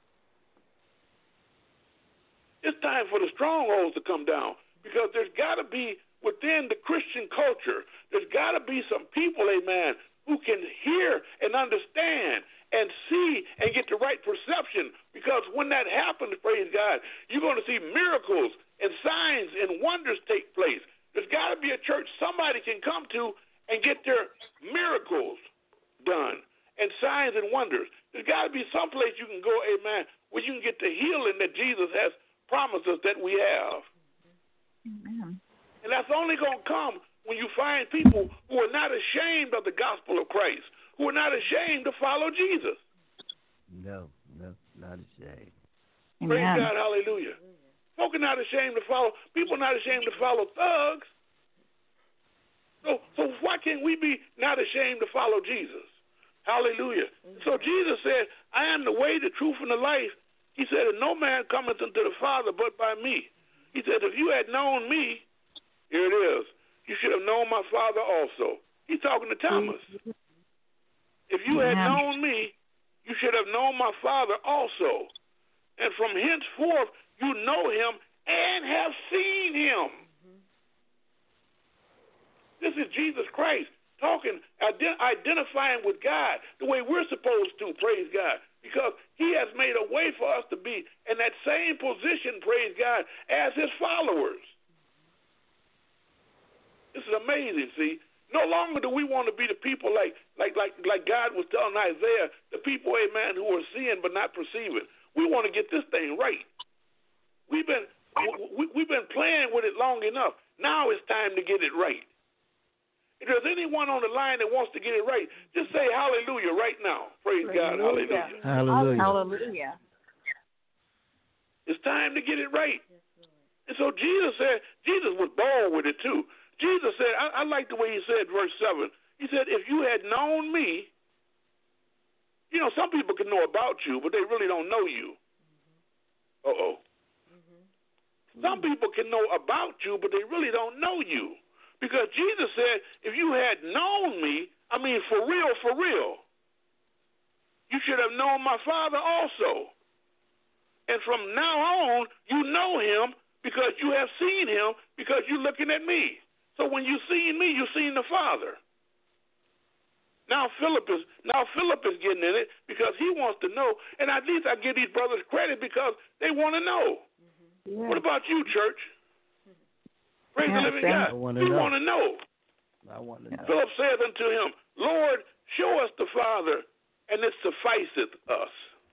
It's time for the strongholds to come down because there's got to be within the Christian culture, there's got to be some people, amen, who can hear and understand and see and get the right perception, because when that happens, praise God, you're going to see miracles and signs and wonders take place. There's got to be a church somebody can come to and get their miracles done and signs and wonders. There's got to be some place you can go, amen, where you can get the healing that Jesus has promised us that we have. Amen. And that's only going to come when you find people who are not ashamed of the gospel of Christ, who are not ashamed to follow Jesus. No, no, not ashamed. Praise Amen. God, hallelujah. Folk are not ashamed to follow. People are not ashamed to follow thugs. So, so why can't we be not ashamed to follow Jesus? Hallelujah. Mm-hmm. So Jesus said, I am the way, the truth, and the life. He said, and no man cometh unto the Father but by me. He said, if you had known me, here it is, you should have known my Father also. He's talking to Thomas. Mm-hmm. If you had yeah. known me, you should have known my Father also. And from henceforth, you know him and have seen him. Mm-hmm. This is Jesus Christ talking, ident- identifying with God the way we're supposed to, praise God, because he has made a way for us to be in that same position, praise God, as his followers. This is amazing, see. No longer do we want to be the people like like like like God was telling Isaiah, the people, amen, who are seeing but not perceiving. We want to get this thing right. We've been we, we've been playing with it long enough. Now it's time to get it right. If there's anyone on the line that wants to get it right, just say hallelujah right now. Praise God, hallelujah. Hallelujah. Hallelujah. It's time to get it right. And so Jesus said, Jesus was bold with it too. Jesus said, I, I like the way he said, verse seven. He said, if you had known me, you know, some people can know about you, but they really don't know you. Uh-oh. Some people can know about you, but they really don't know you. Because Jesus said, if you had known me, I mean, for real, for real, you should have known my Father also. And from now on, you know him because you have seen him because you're looking at me. So when you seen me, you seen the Father. Now Philip is now Philip is getting in it because he wants to know. And at least I give these brothers credit because they want to know. Mm-hmm. Yeah. What about you, church? Praise yeah, the living God. You want to know. I want to know. Philip saith unto him, Lord, show us the Father, and it sufficeth us.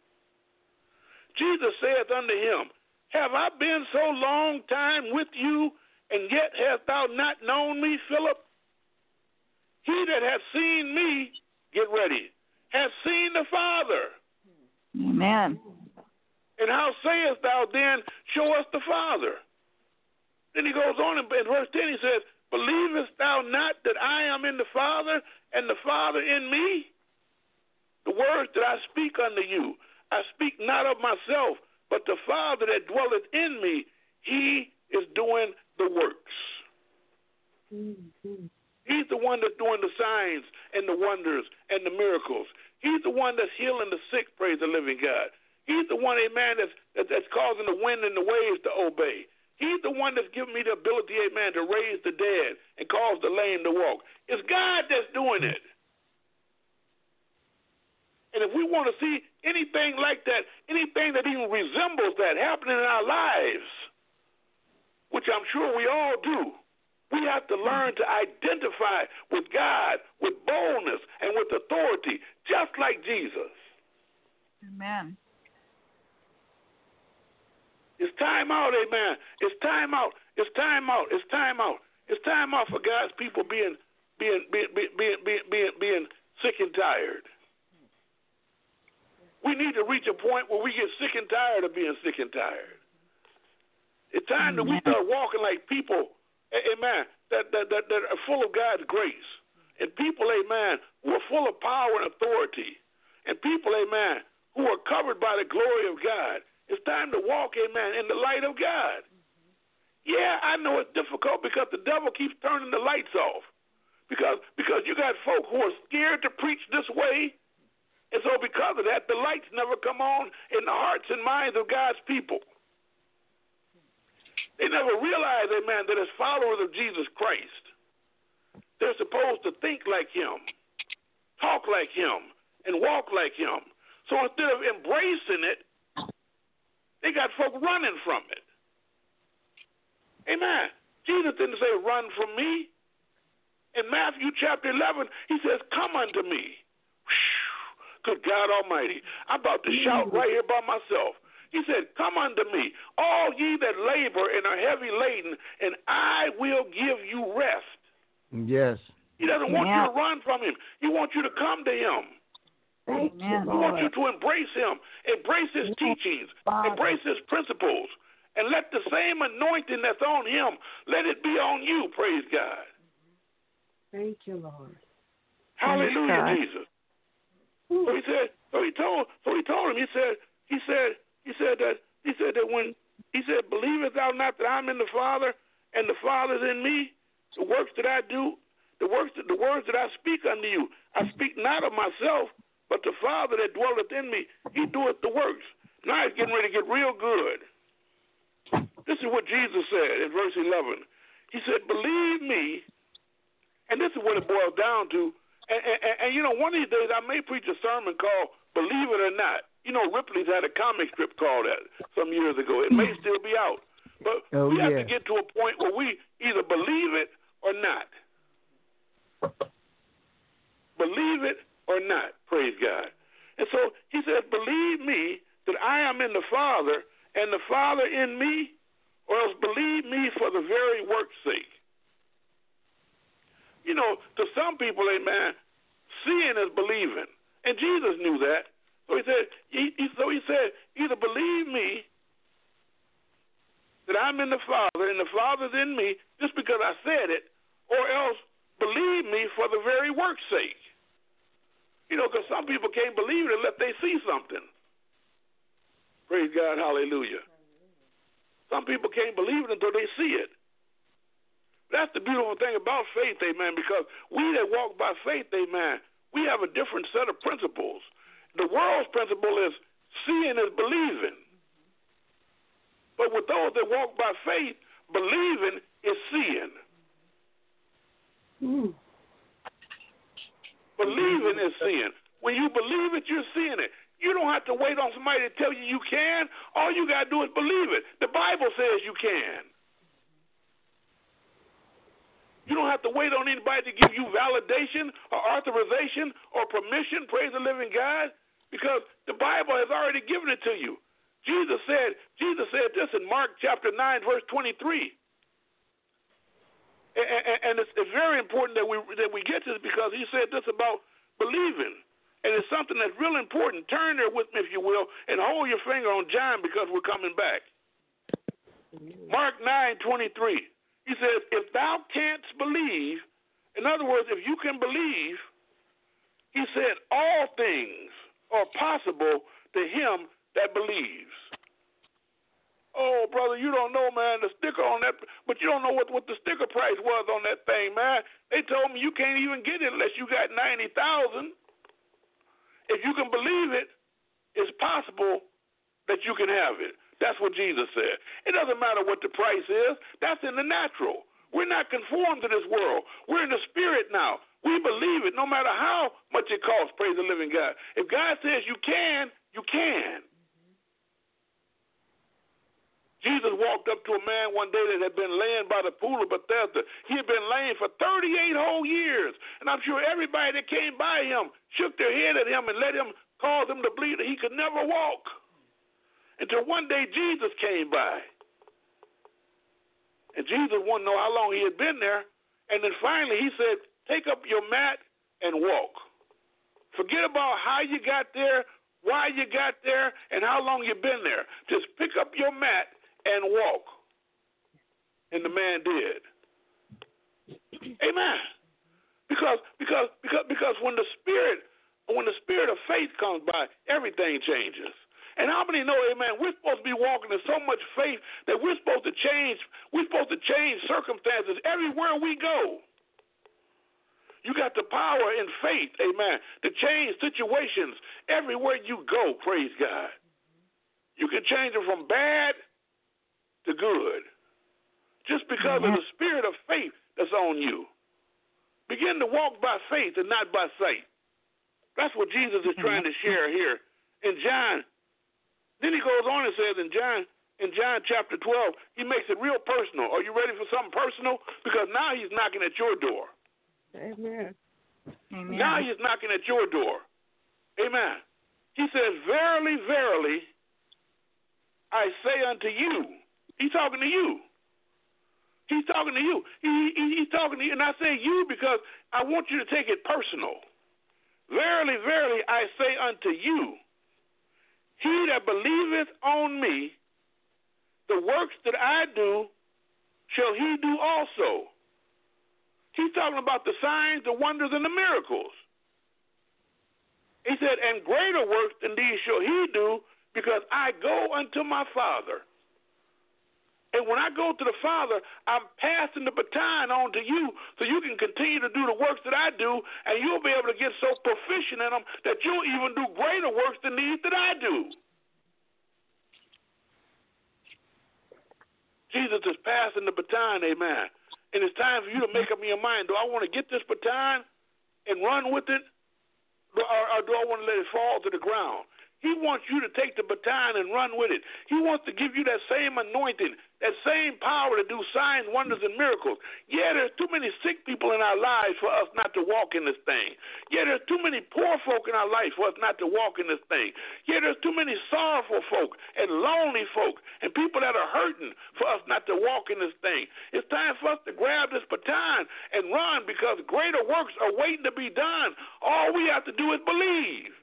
Jesus saith unto him, have I been so long time with you, and yet hast thou not known me, Philip? He that hath seen me, get ready, hath seen the Father. Amen. And how sayest thou then, show us the Father? Then he goes on in verse ten, he says, believest thou not that I am in the Father, and the Father in me? The words that I speak unto you, I speak not of myself, but the Father that dwelleth in me, he is doing the works. Mm-hmm. He's the one that's doing the signs and the wonders and the miracles. He's the one that's healing the sick, praise the living God. He's the one, amen, that's, that's causing the wind and the waves to obey. He's the one that's giving me the ability, amen, to raise the dead and cause the lame to walk. It's God that's doing it. And if we want to see anything like that, anything that even resembles that happening in our lives, which I'm sure we all do, we have to learn to identify with God, with boldness, and with authority, just like Jesus. Amen. It's time out, amen. It's time out. It's time out. It's time out. It's time out for God's people being being being being being being, being, being sick and tired. We need to reach a point where we get sick and tired of being sick and tired. It's time that we start walking like people, amen, that, that, that, that are full of God's grace. And people, amen, who are full of power and authority. And people, amen, who are covered by the glory of God. It's time to walk, amen, in the light of God. Yeah, I know it's difficult because the devil keeps turning the lights off. Because, because you got folk who are scared to preach this way. And so because of that, the lights never come on in the hearts and minds of God's people. They never realize, amen, that as followers of Jesus Christ, they're supposed to think like him, talk like him, and walk like him. So instead of embracing it, they got folk running from it. Amen. Jesus didn't say, run from me. In Matthew chapter eleven, he says, come unto me. Good God Almighty. I'm about to shout right here by myself. He said, come unto me, all ye that labor and are heavy laden, and I will give you rest. Yes. He doesn't want yeah. you to run from him. He wants you to come to him. Thank he you, wants you to embrace him, embrace his teachings, Father. Embrace his principles, and let the same anointing that's on him, let it be on you, praise God. Thank you, Lord. Hallelujah, Jesus. So he said, so he told, so he told him, he said, he said, he said that, he said that when, he said, believest thou not that I'm in the Father and the Father's in me? The works that I do, the works, that, the words that I speak unto you, I speak not of myself, but the Father that dwelleth in me, he doeth the works. Now he's getting ready to get real good. This is what Jesus said in verse eleven. He said, believe me, and this is what it boils down to. And, and, and, you know, one of these days I may preach a sermon called Believe It or Not. You know, Ripley's had a comic strip called that some years ago. It may still be out. But oh, we have yeah. to get to a point where we either believe it or not. Believe it or not, praise God. And so he says, believe me that I am in the Father and the Father in me, or else believe me for the very work's sake. You know, to some people, amen, seeing is believing. And Jesus knew that. So he said, he, he, so he said, either believe me that I'm in the Father and the Father's in me just because I said it, or else believe me for the very work's sake. You know, because some people can't believe it unless they see something. Praise God, hallelujah. Some people can't believe it until they see it. That's the beautiful thing about faith, amen, because we that walk by faith, amen, we have a different set of principles. The world's principle is seeing is believing. But with those that walk by faith, believing is seeing. Mm. Believing is seeing. When you believe it, you're seeing it. You don't have to wait on somebody to tell you you can. All you got to do is believe it. The Bible says you can. You don't have to wait on anybody to give you validation or authorization or permission, praise the living God, because the Bible has already given it to you. Jesus said, Jesus said this in Mark chapter nine, verse twenty-three. And it's very important that we that we get this, because he said this about believing. And it's something that's real important. Turn there with me, if you will, and hold your finger on John, because we're coming back. Mark nine twenty-three. He says, if thou canst believe, in other words, if you can believe, he said, all things are possible to him that believes. Oh, brother, you don't know, man, the sticker on that, but you don't know what, what the sticker price was on that thing, man. They told me you can't even get it unless you got ninety thousand dollars. If you can believe it, it's possible that you can have it. That's what Jesus said. It doesn't matter what the price is. That's in the natural. We're not conformed to this world. We're in the spirit now. We believe it no matter how much it costs, praise the living God. If God says you can, you can. Jesus walked up to a man one day that had been laying by the pool of Bethesda. He had been laying for thirty-eight whole years. And I'm sure everybody that came by him shook their head at him and let him cause him to believe that he could never walk. Until one day Jesus came by. And Jesus wanted to know how long he had been there. And then finally he said, take up your mat and walk. Forget about how you got there, why you got there, and how long you've been there. Just pick up your mat and walk. And the man did. Amen. Because because because because when the spirit when the spirit of faith comes by, everything changes. And how many know, amen, we're supposed to be walking in so much faith that we're supposed to change, we're supposed to change circumstances everywhere we go. You got the power in faith, amen, to change situations everywhere you go, praise God. You can change it from bad to good just because mm-hmm. of the spirit of faith that's on you. Begin to walk by faith and not by sight. That's what Jesus is trying to share here in John. Then he goes on and says in John in John chapter twelve, he makes it real personal. Are you ready for something personal? Because now he's knocking at your door. Amen. Amen. Now he's knocking at your door. Amen. He says, verily, verily, I say unto you. He's talking to you. He's talking to you. He, he, he's talking to you. And I say you because I want you to take it personal. Verily, verily, I say unto you, he that believeth on me, the works that I do, shall he do also. He's talking about the signs, the wonders, and the miracles. He said, and greater works than these shall he do, because I go unto my Father. And when I go to the Father, I'm passing the baton on to you so you can continue to do the works that I do, and you'll be able to get so proficient in them that you'll even do greater works than these that I do. Jesus is passing the baton, amen. And it's time for you to make up your mind. Do I want to get this baton and run with it, or, or do I want to let it fall to the ground? He wants you to take the baton and run with it. He wants to give you that same anointing, that same power to do signs, wonders, and miracles. Yeah, there's too many sick people in our lives for us not to walk in this thing. Yeah, there's too many poor folk in our life for us not to walk in this thing. Yeah, there's too many sorrowful folk and lonely folk and people that are hurting for us not to walk in this thing. It's time for us to grab this baton and run, because greater works are waiting to be done. All we have to do is believe.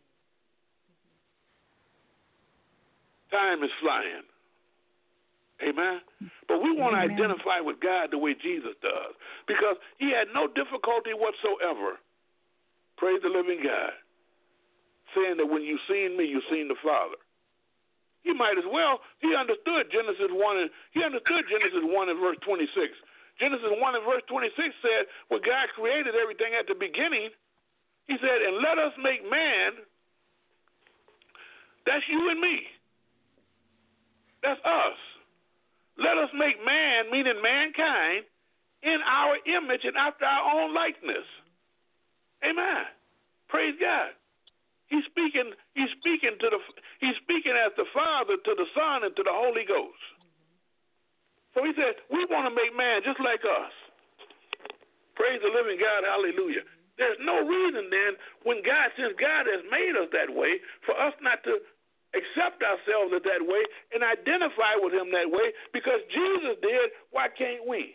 Time is flying. Amen? But we want to Amen. identify with God the way Jesus does, because he had no difficulty whatsoever, praise the living God, saying that when you've seen me, you've seen the Father. He might as well. He understood Genesis one and he understood Genesis one and verse twenty-six. Genesis one and verse twenty-six said, when God created everything at the beginning, he said, and let us make man. That's you and me. That's us. Let us make man, meaning mankind, in our image and after our own likeness. Amen. Praise God. He's speaking. He's speaking to the. He's speaking as the Father to the Son and to the Holy Ghost. So he said, we want to make man just like us. Praise the living God. Hallelujah. There's no reason then, when God, since God has made us that way, for us not to accept ourselves as that way and identify with him that way, because Jesus did. Why can't we?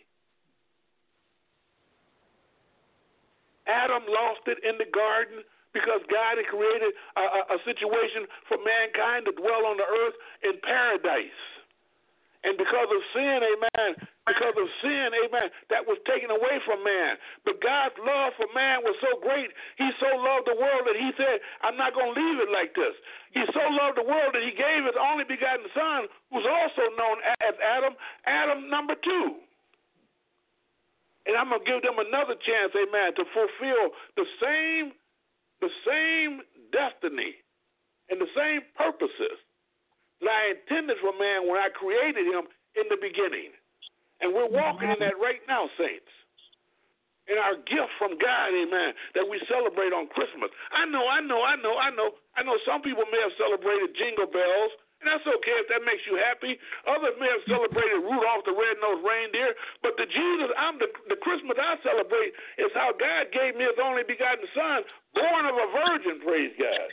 Adam lost it in the garden because God had created a, a, a situation for mankind to dwell on the earth in paradise. And because of sin, amen, because of sin, amen, that was taken away from man. But God's love for man was so great, he so loved the world that he said, I'm not going to leave it like this. He so loved the world that he gave his only begotten son, who's also known as Adam, Adam number two. And I'm going to give them another chance, amen, to fulfill the same, the same destiny and the same purposes that I intended for man when I created him in the beginning. And we're walking in that right now, saints. In our gift from God, amen, that we celebrate on Christmas. I know, I know, I know, I know, I know some people may have celebrated Jingle Bells, and that's okay if that makes you happy. Others may have celebrated Rudolph the Red-Nosed Reindeer, but the Jesus, I'm the, the Christmas I celebrate is how God gave me his only begotten son, born of a virgin, praise God.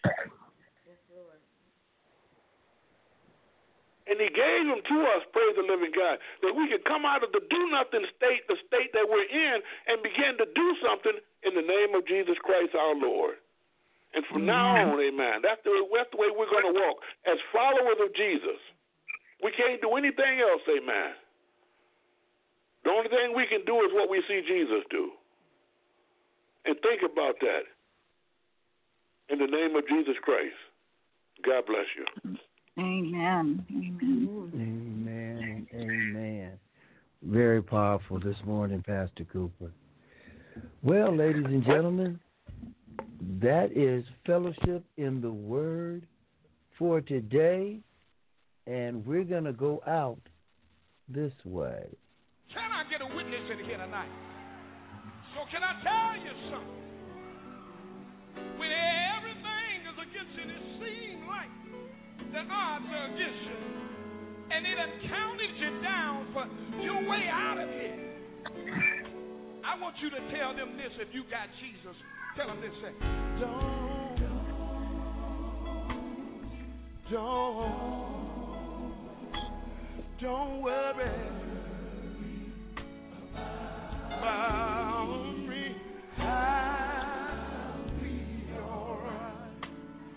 And he gave him to us, praise the living God, that we could come out of the do-nothing state, the state that we're in, and begin to do something in the name of Jesus Christ our Lord. And from now on, amen, that's the, that's the way we're going to walk as followers of Jesus. We can't do anything else, amen. The only thing we can do is what we see Jesus do. And think about that. In the name of Jesus Christ, God bless you. Amen. Amen. Amen. Amen. Very powerful this morning, Pastor Cooper. Well, ladies and gentlemen, that is Fellowship in the Word for today, and we're going to go out this way. Can I get a witness in here tonight? So can I tell you something? When everything is against you, it seems like the odds are against you, and it has counted you down for your way out of here. I want you to tell them this. If you got Jesus, tell them this. Say, don't, don't, don't worry about me. I'll be all right.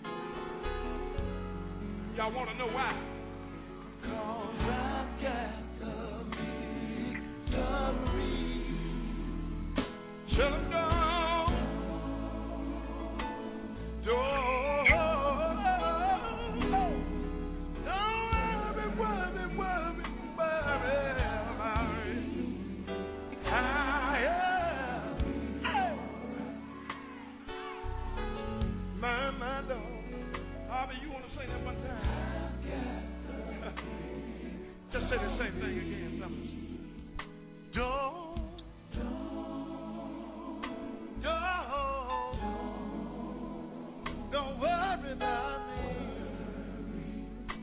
Y'all want to know why? Because I've got the victory. Tell them don't, don't, don't worry, worry, worry, worry about it. I am, my, my dog. Harvey, you want to say that one time? Just say the same thing again, fellas. Don't, don't, don't worry about me.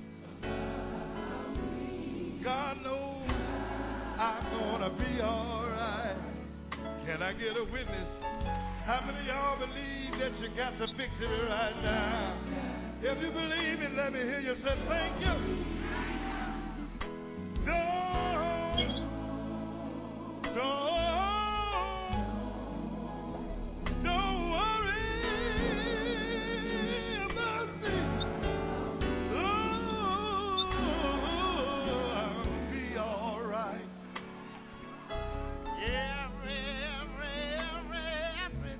God knows I'm gonna be all right. Can I get a witness? How many of y'all believe that you got the victory right now? If you believe it, let me hear you say thank you. Don't, don't, don't worry about me. Oh, I'll be all right. Every, every, every,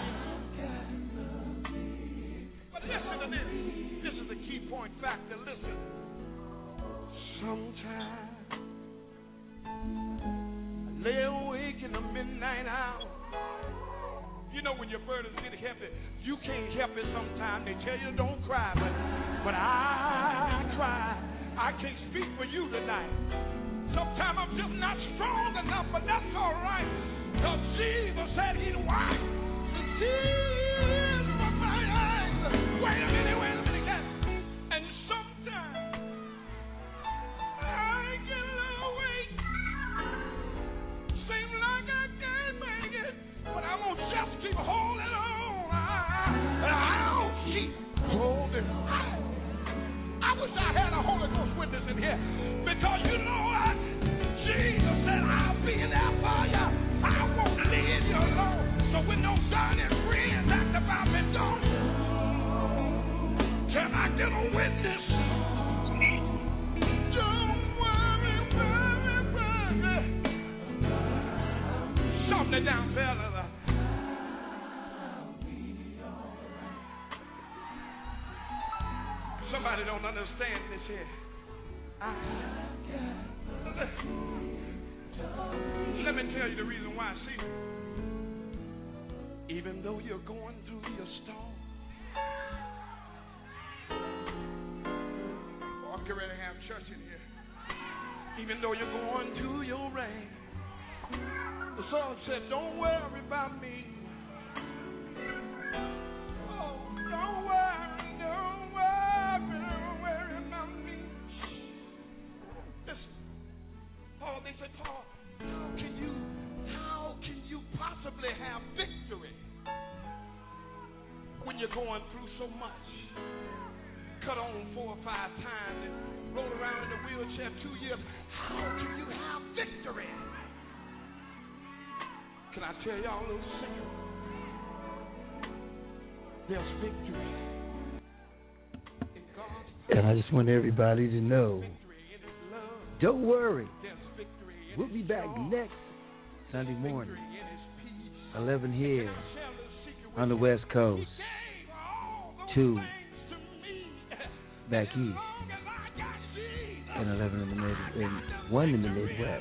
everything. But listen to this. This is the key point factor. Listen. Sometimes I lay awake in the midnight hour. You know when your burdens get heavy, you can't help it sometimes. They tell you don't cry, but, but I cry. I can't speak for you tonight. Sometimes I'm just not strong enough, but that's all right. Because Jesus said he'd wipe the tears from my eyes. Wait a minute, wait a minute, guys. And sometimes I get a little weak. Seems like I can't make it, but I'm going to just keep holding on. I, I'll keep holding on. I wish I had a Holy Ghost witness in here, because you know what? Jesus said, I'll be there for you. I won't leave you alone. So when those dying friends act about me, don't you? Can I get a witness? Don't worry, worry, worry. Something down, fella. Somebody don't understand this here. I, let me tell you the reason why. See, even though you're going through your storm, oh, I'm getting ready to have church in here. Even though you're going through your rain, the song said, don't worry about me. Oh, don't worry, don't worry, don't worry about me. Listen, Paul, they said, Paul, how can you, how can you possibly have victory when you're going through so much? Cut on four or five times and roll around in a wheelchair two years. How can you have victory? Can I tell y'all a little secret? There's victory in God's presence. And I just want everybody to know, don't worry. We'll be back next Sunday morning, eleven here on the West Coast, two back east, and eleven in the mid, and one in the Midwest.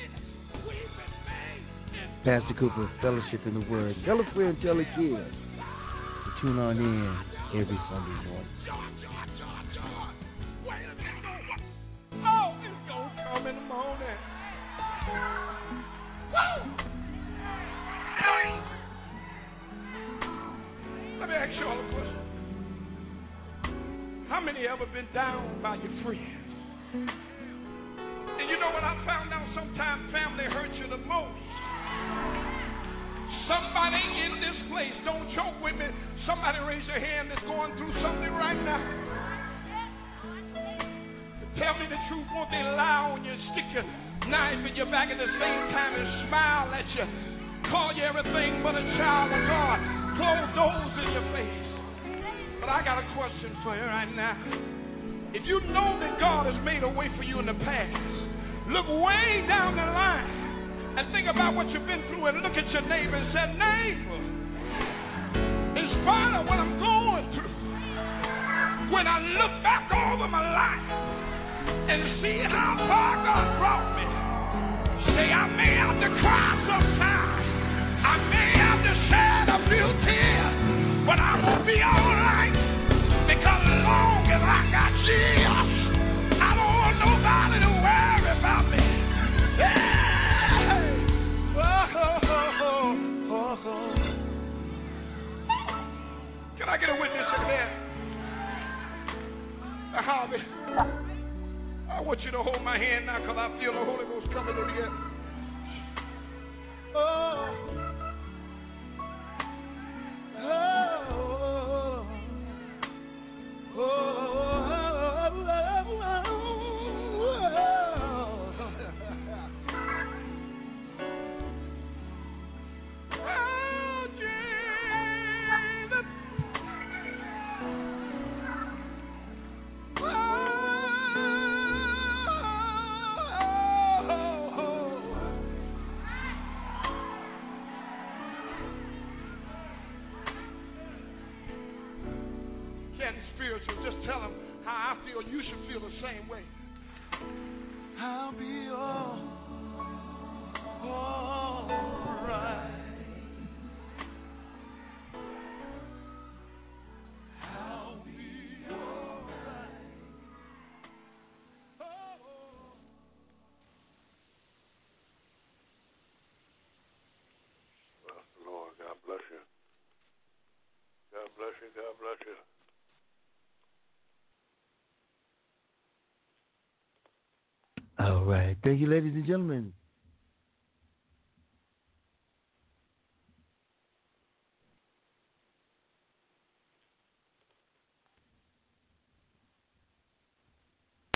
Pastor Cooper, Fellowship in the Word. Tell a friend, tell a kid to tune on in every Sunday morning. Oh, it's gonna come in the morning. Woo! Let me ask you all a question. How many ever been down by your friends? And you know what I found out? Sometimes family hurts you the most. Somebody in this place, don't joke with me. Somebody raise your hand that's going through something right now. Tell me the truth, won't they lie on you, stick your knife in your back at the same time and smile at you, call you everything but a child of God, close doors in your face. But I got a question for you right now. If you know that God has made a way for you in the past, look way down the line and think about what you've been through and look at your neighbor and say, neighbor, in spite of what I'm going through, when I look back over my life and see how far God brought me, say I may have to cry sometimes, I may have to shed a few tears, but I'm going to be all right, because as long as I got Jesus, I don't want nobody to worry about me. Yeah. Can I get a witness in there? Uh, Harvey, I want you to hold my hand now, because I feel the Holy Ghost coming in here. Oh. Oh. Oh. Just tell them how I feel. You should feel the same way. I'll be all, all right. I'll be all right. Oh. Bless the Lord. God bless you. God bless you. God bless you. All right. Thank you, ladies and gentlemen.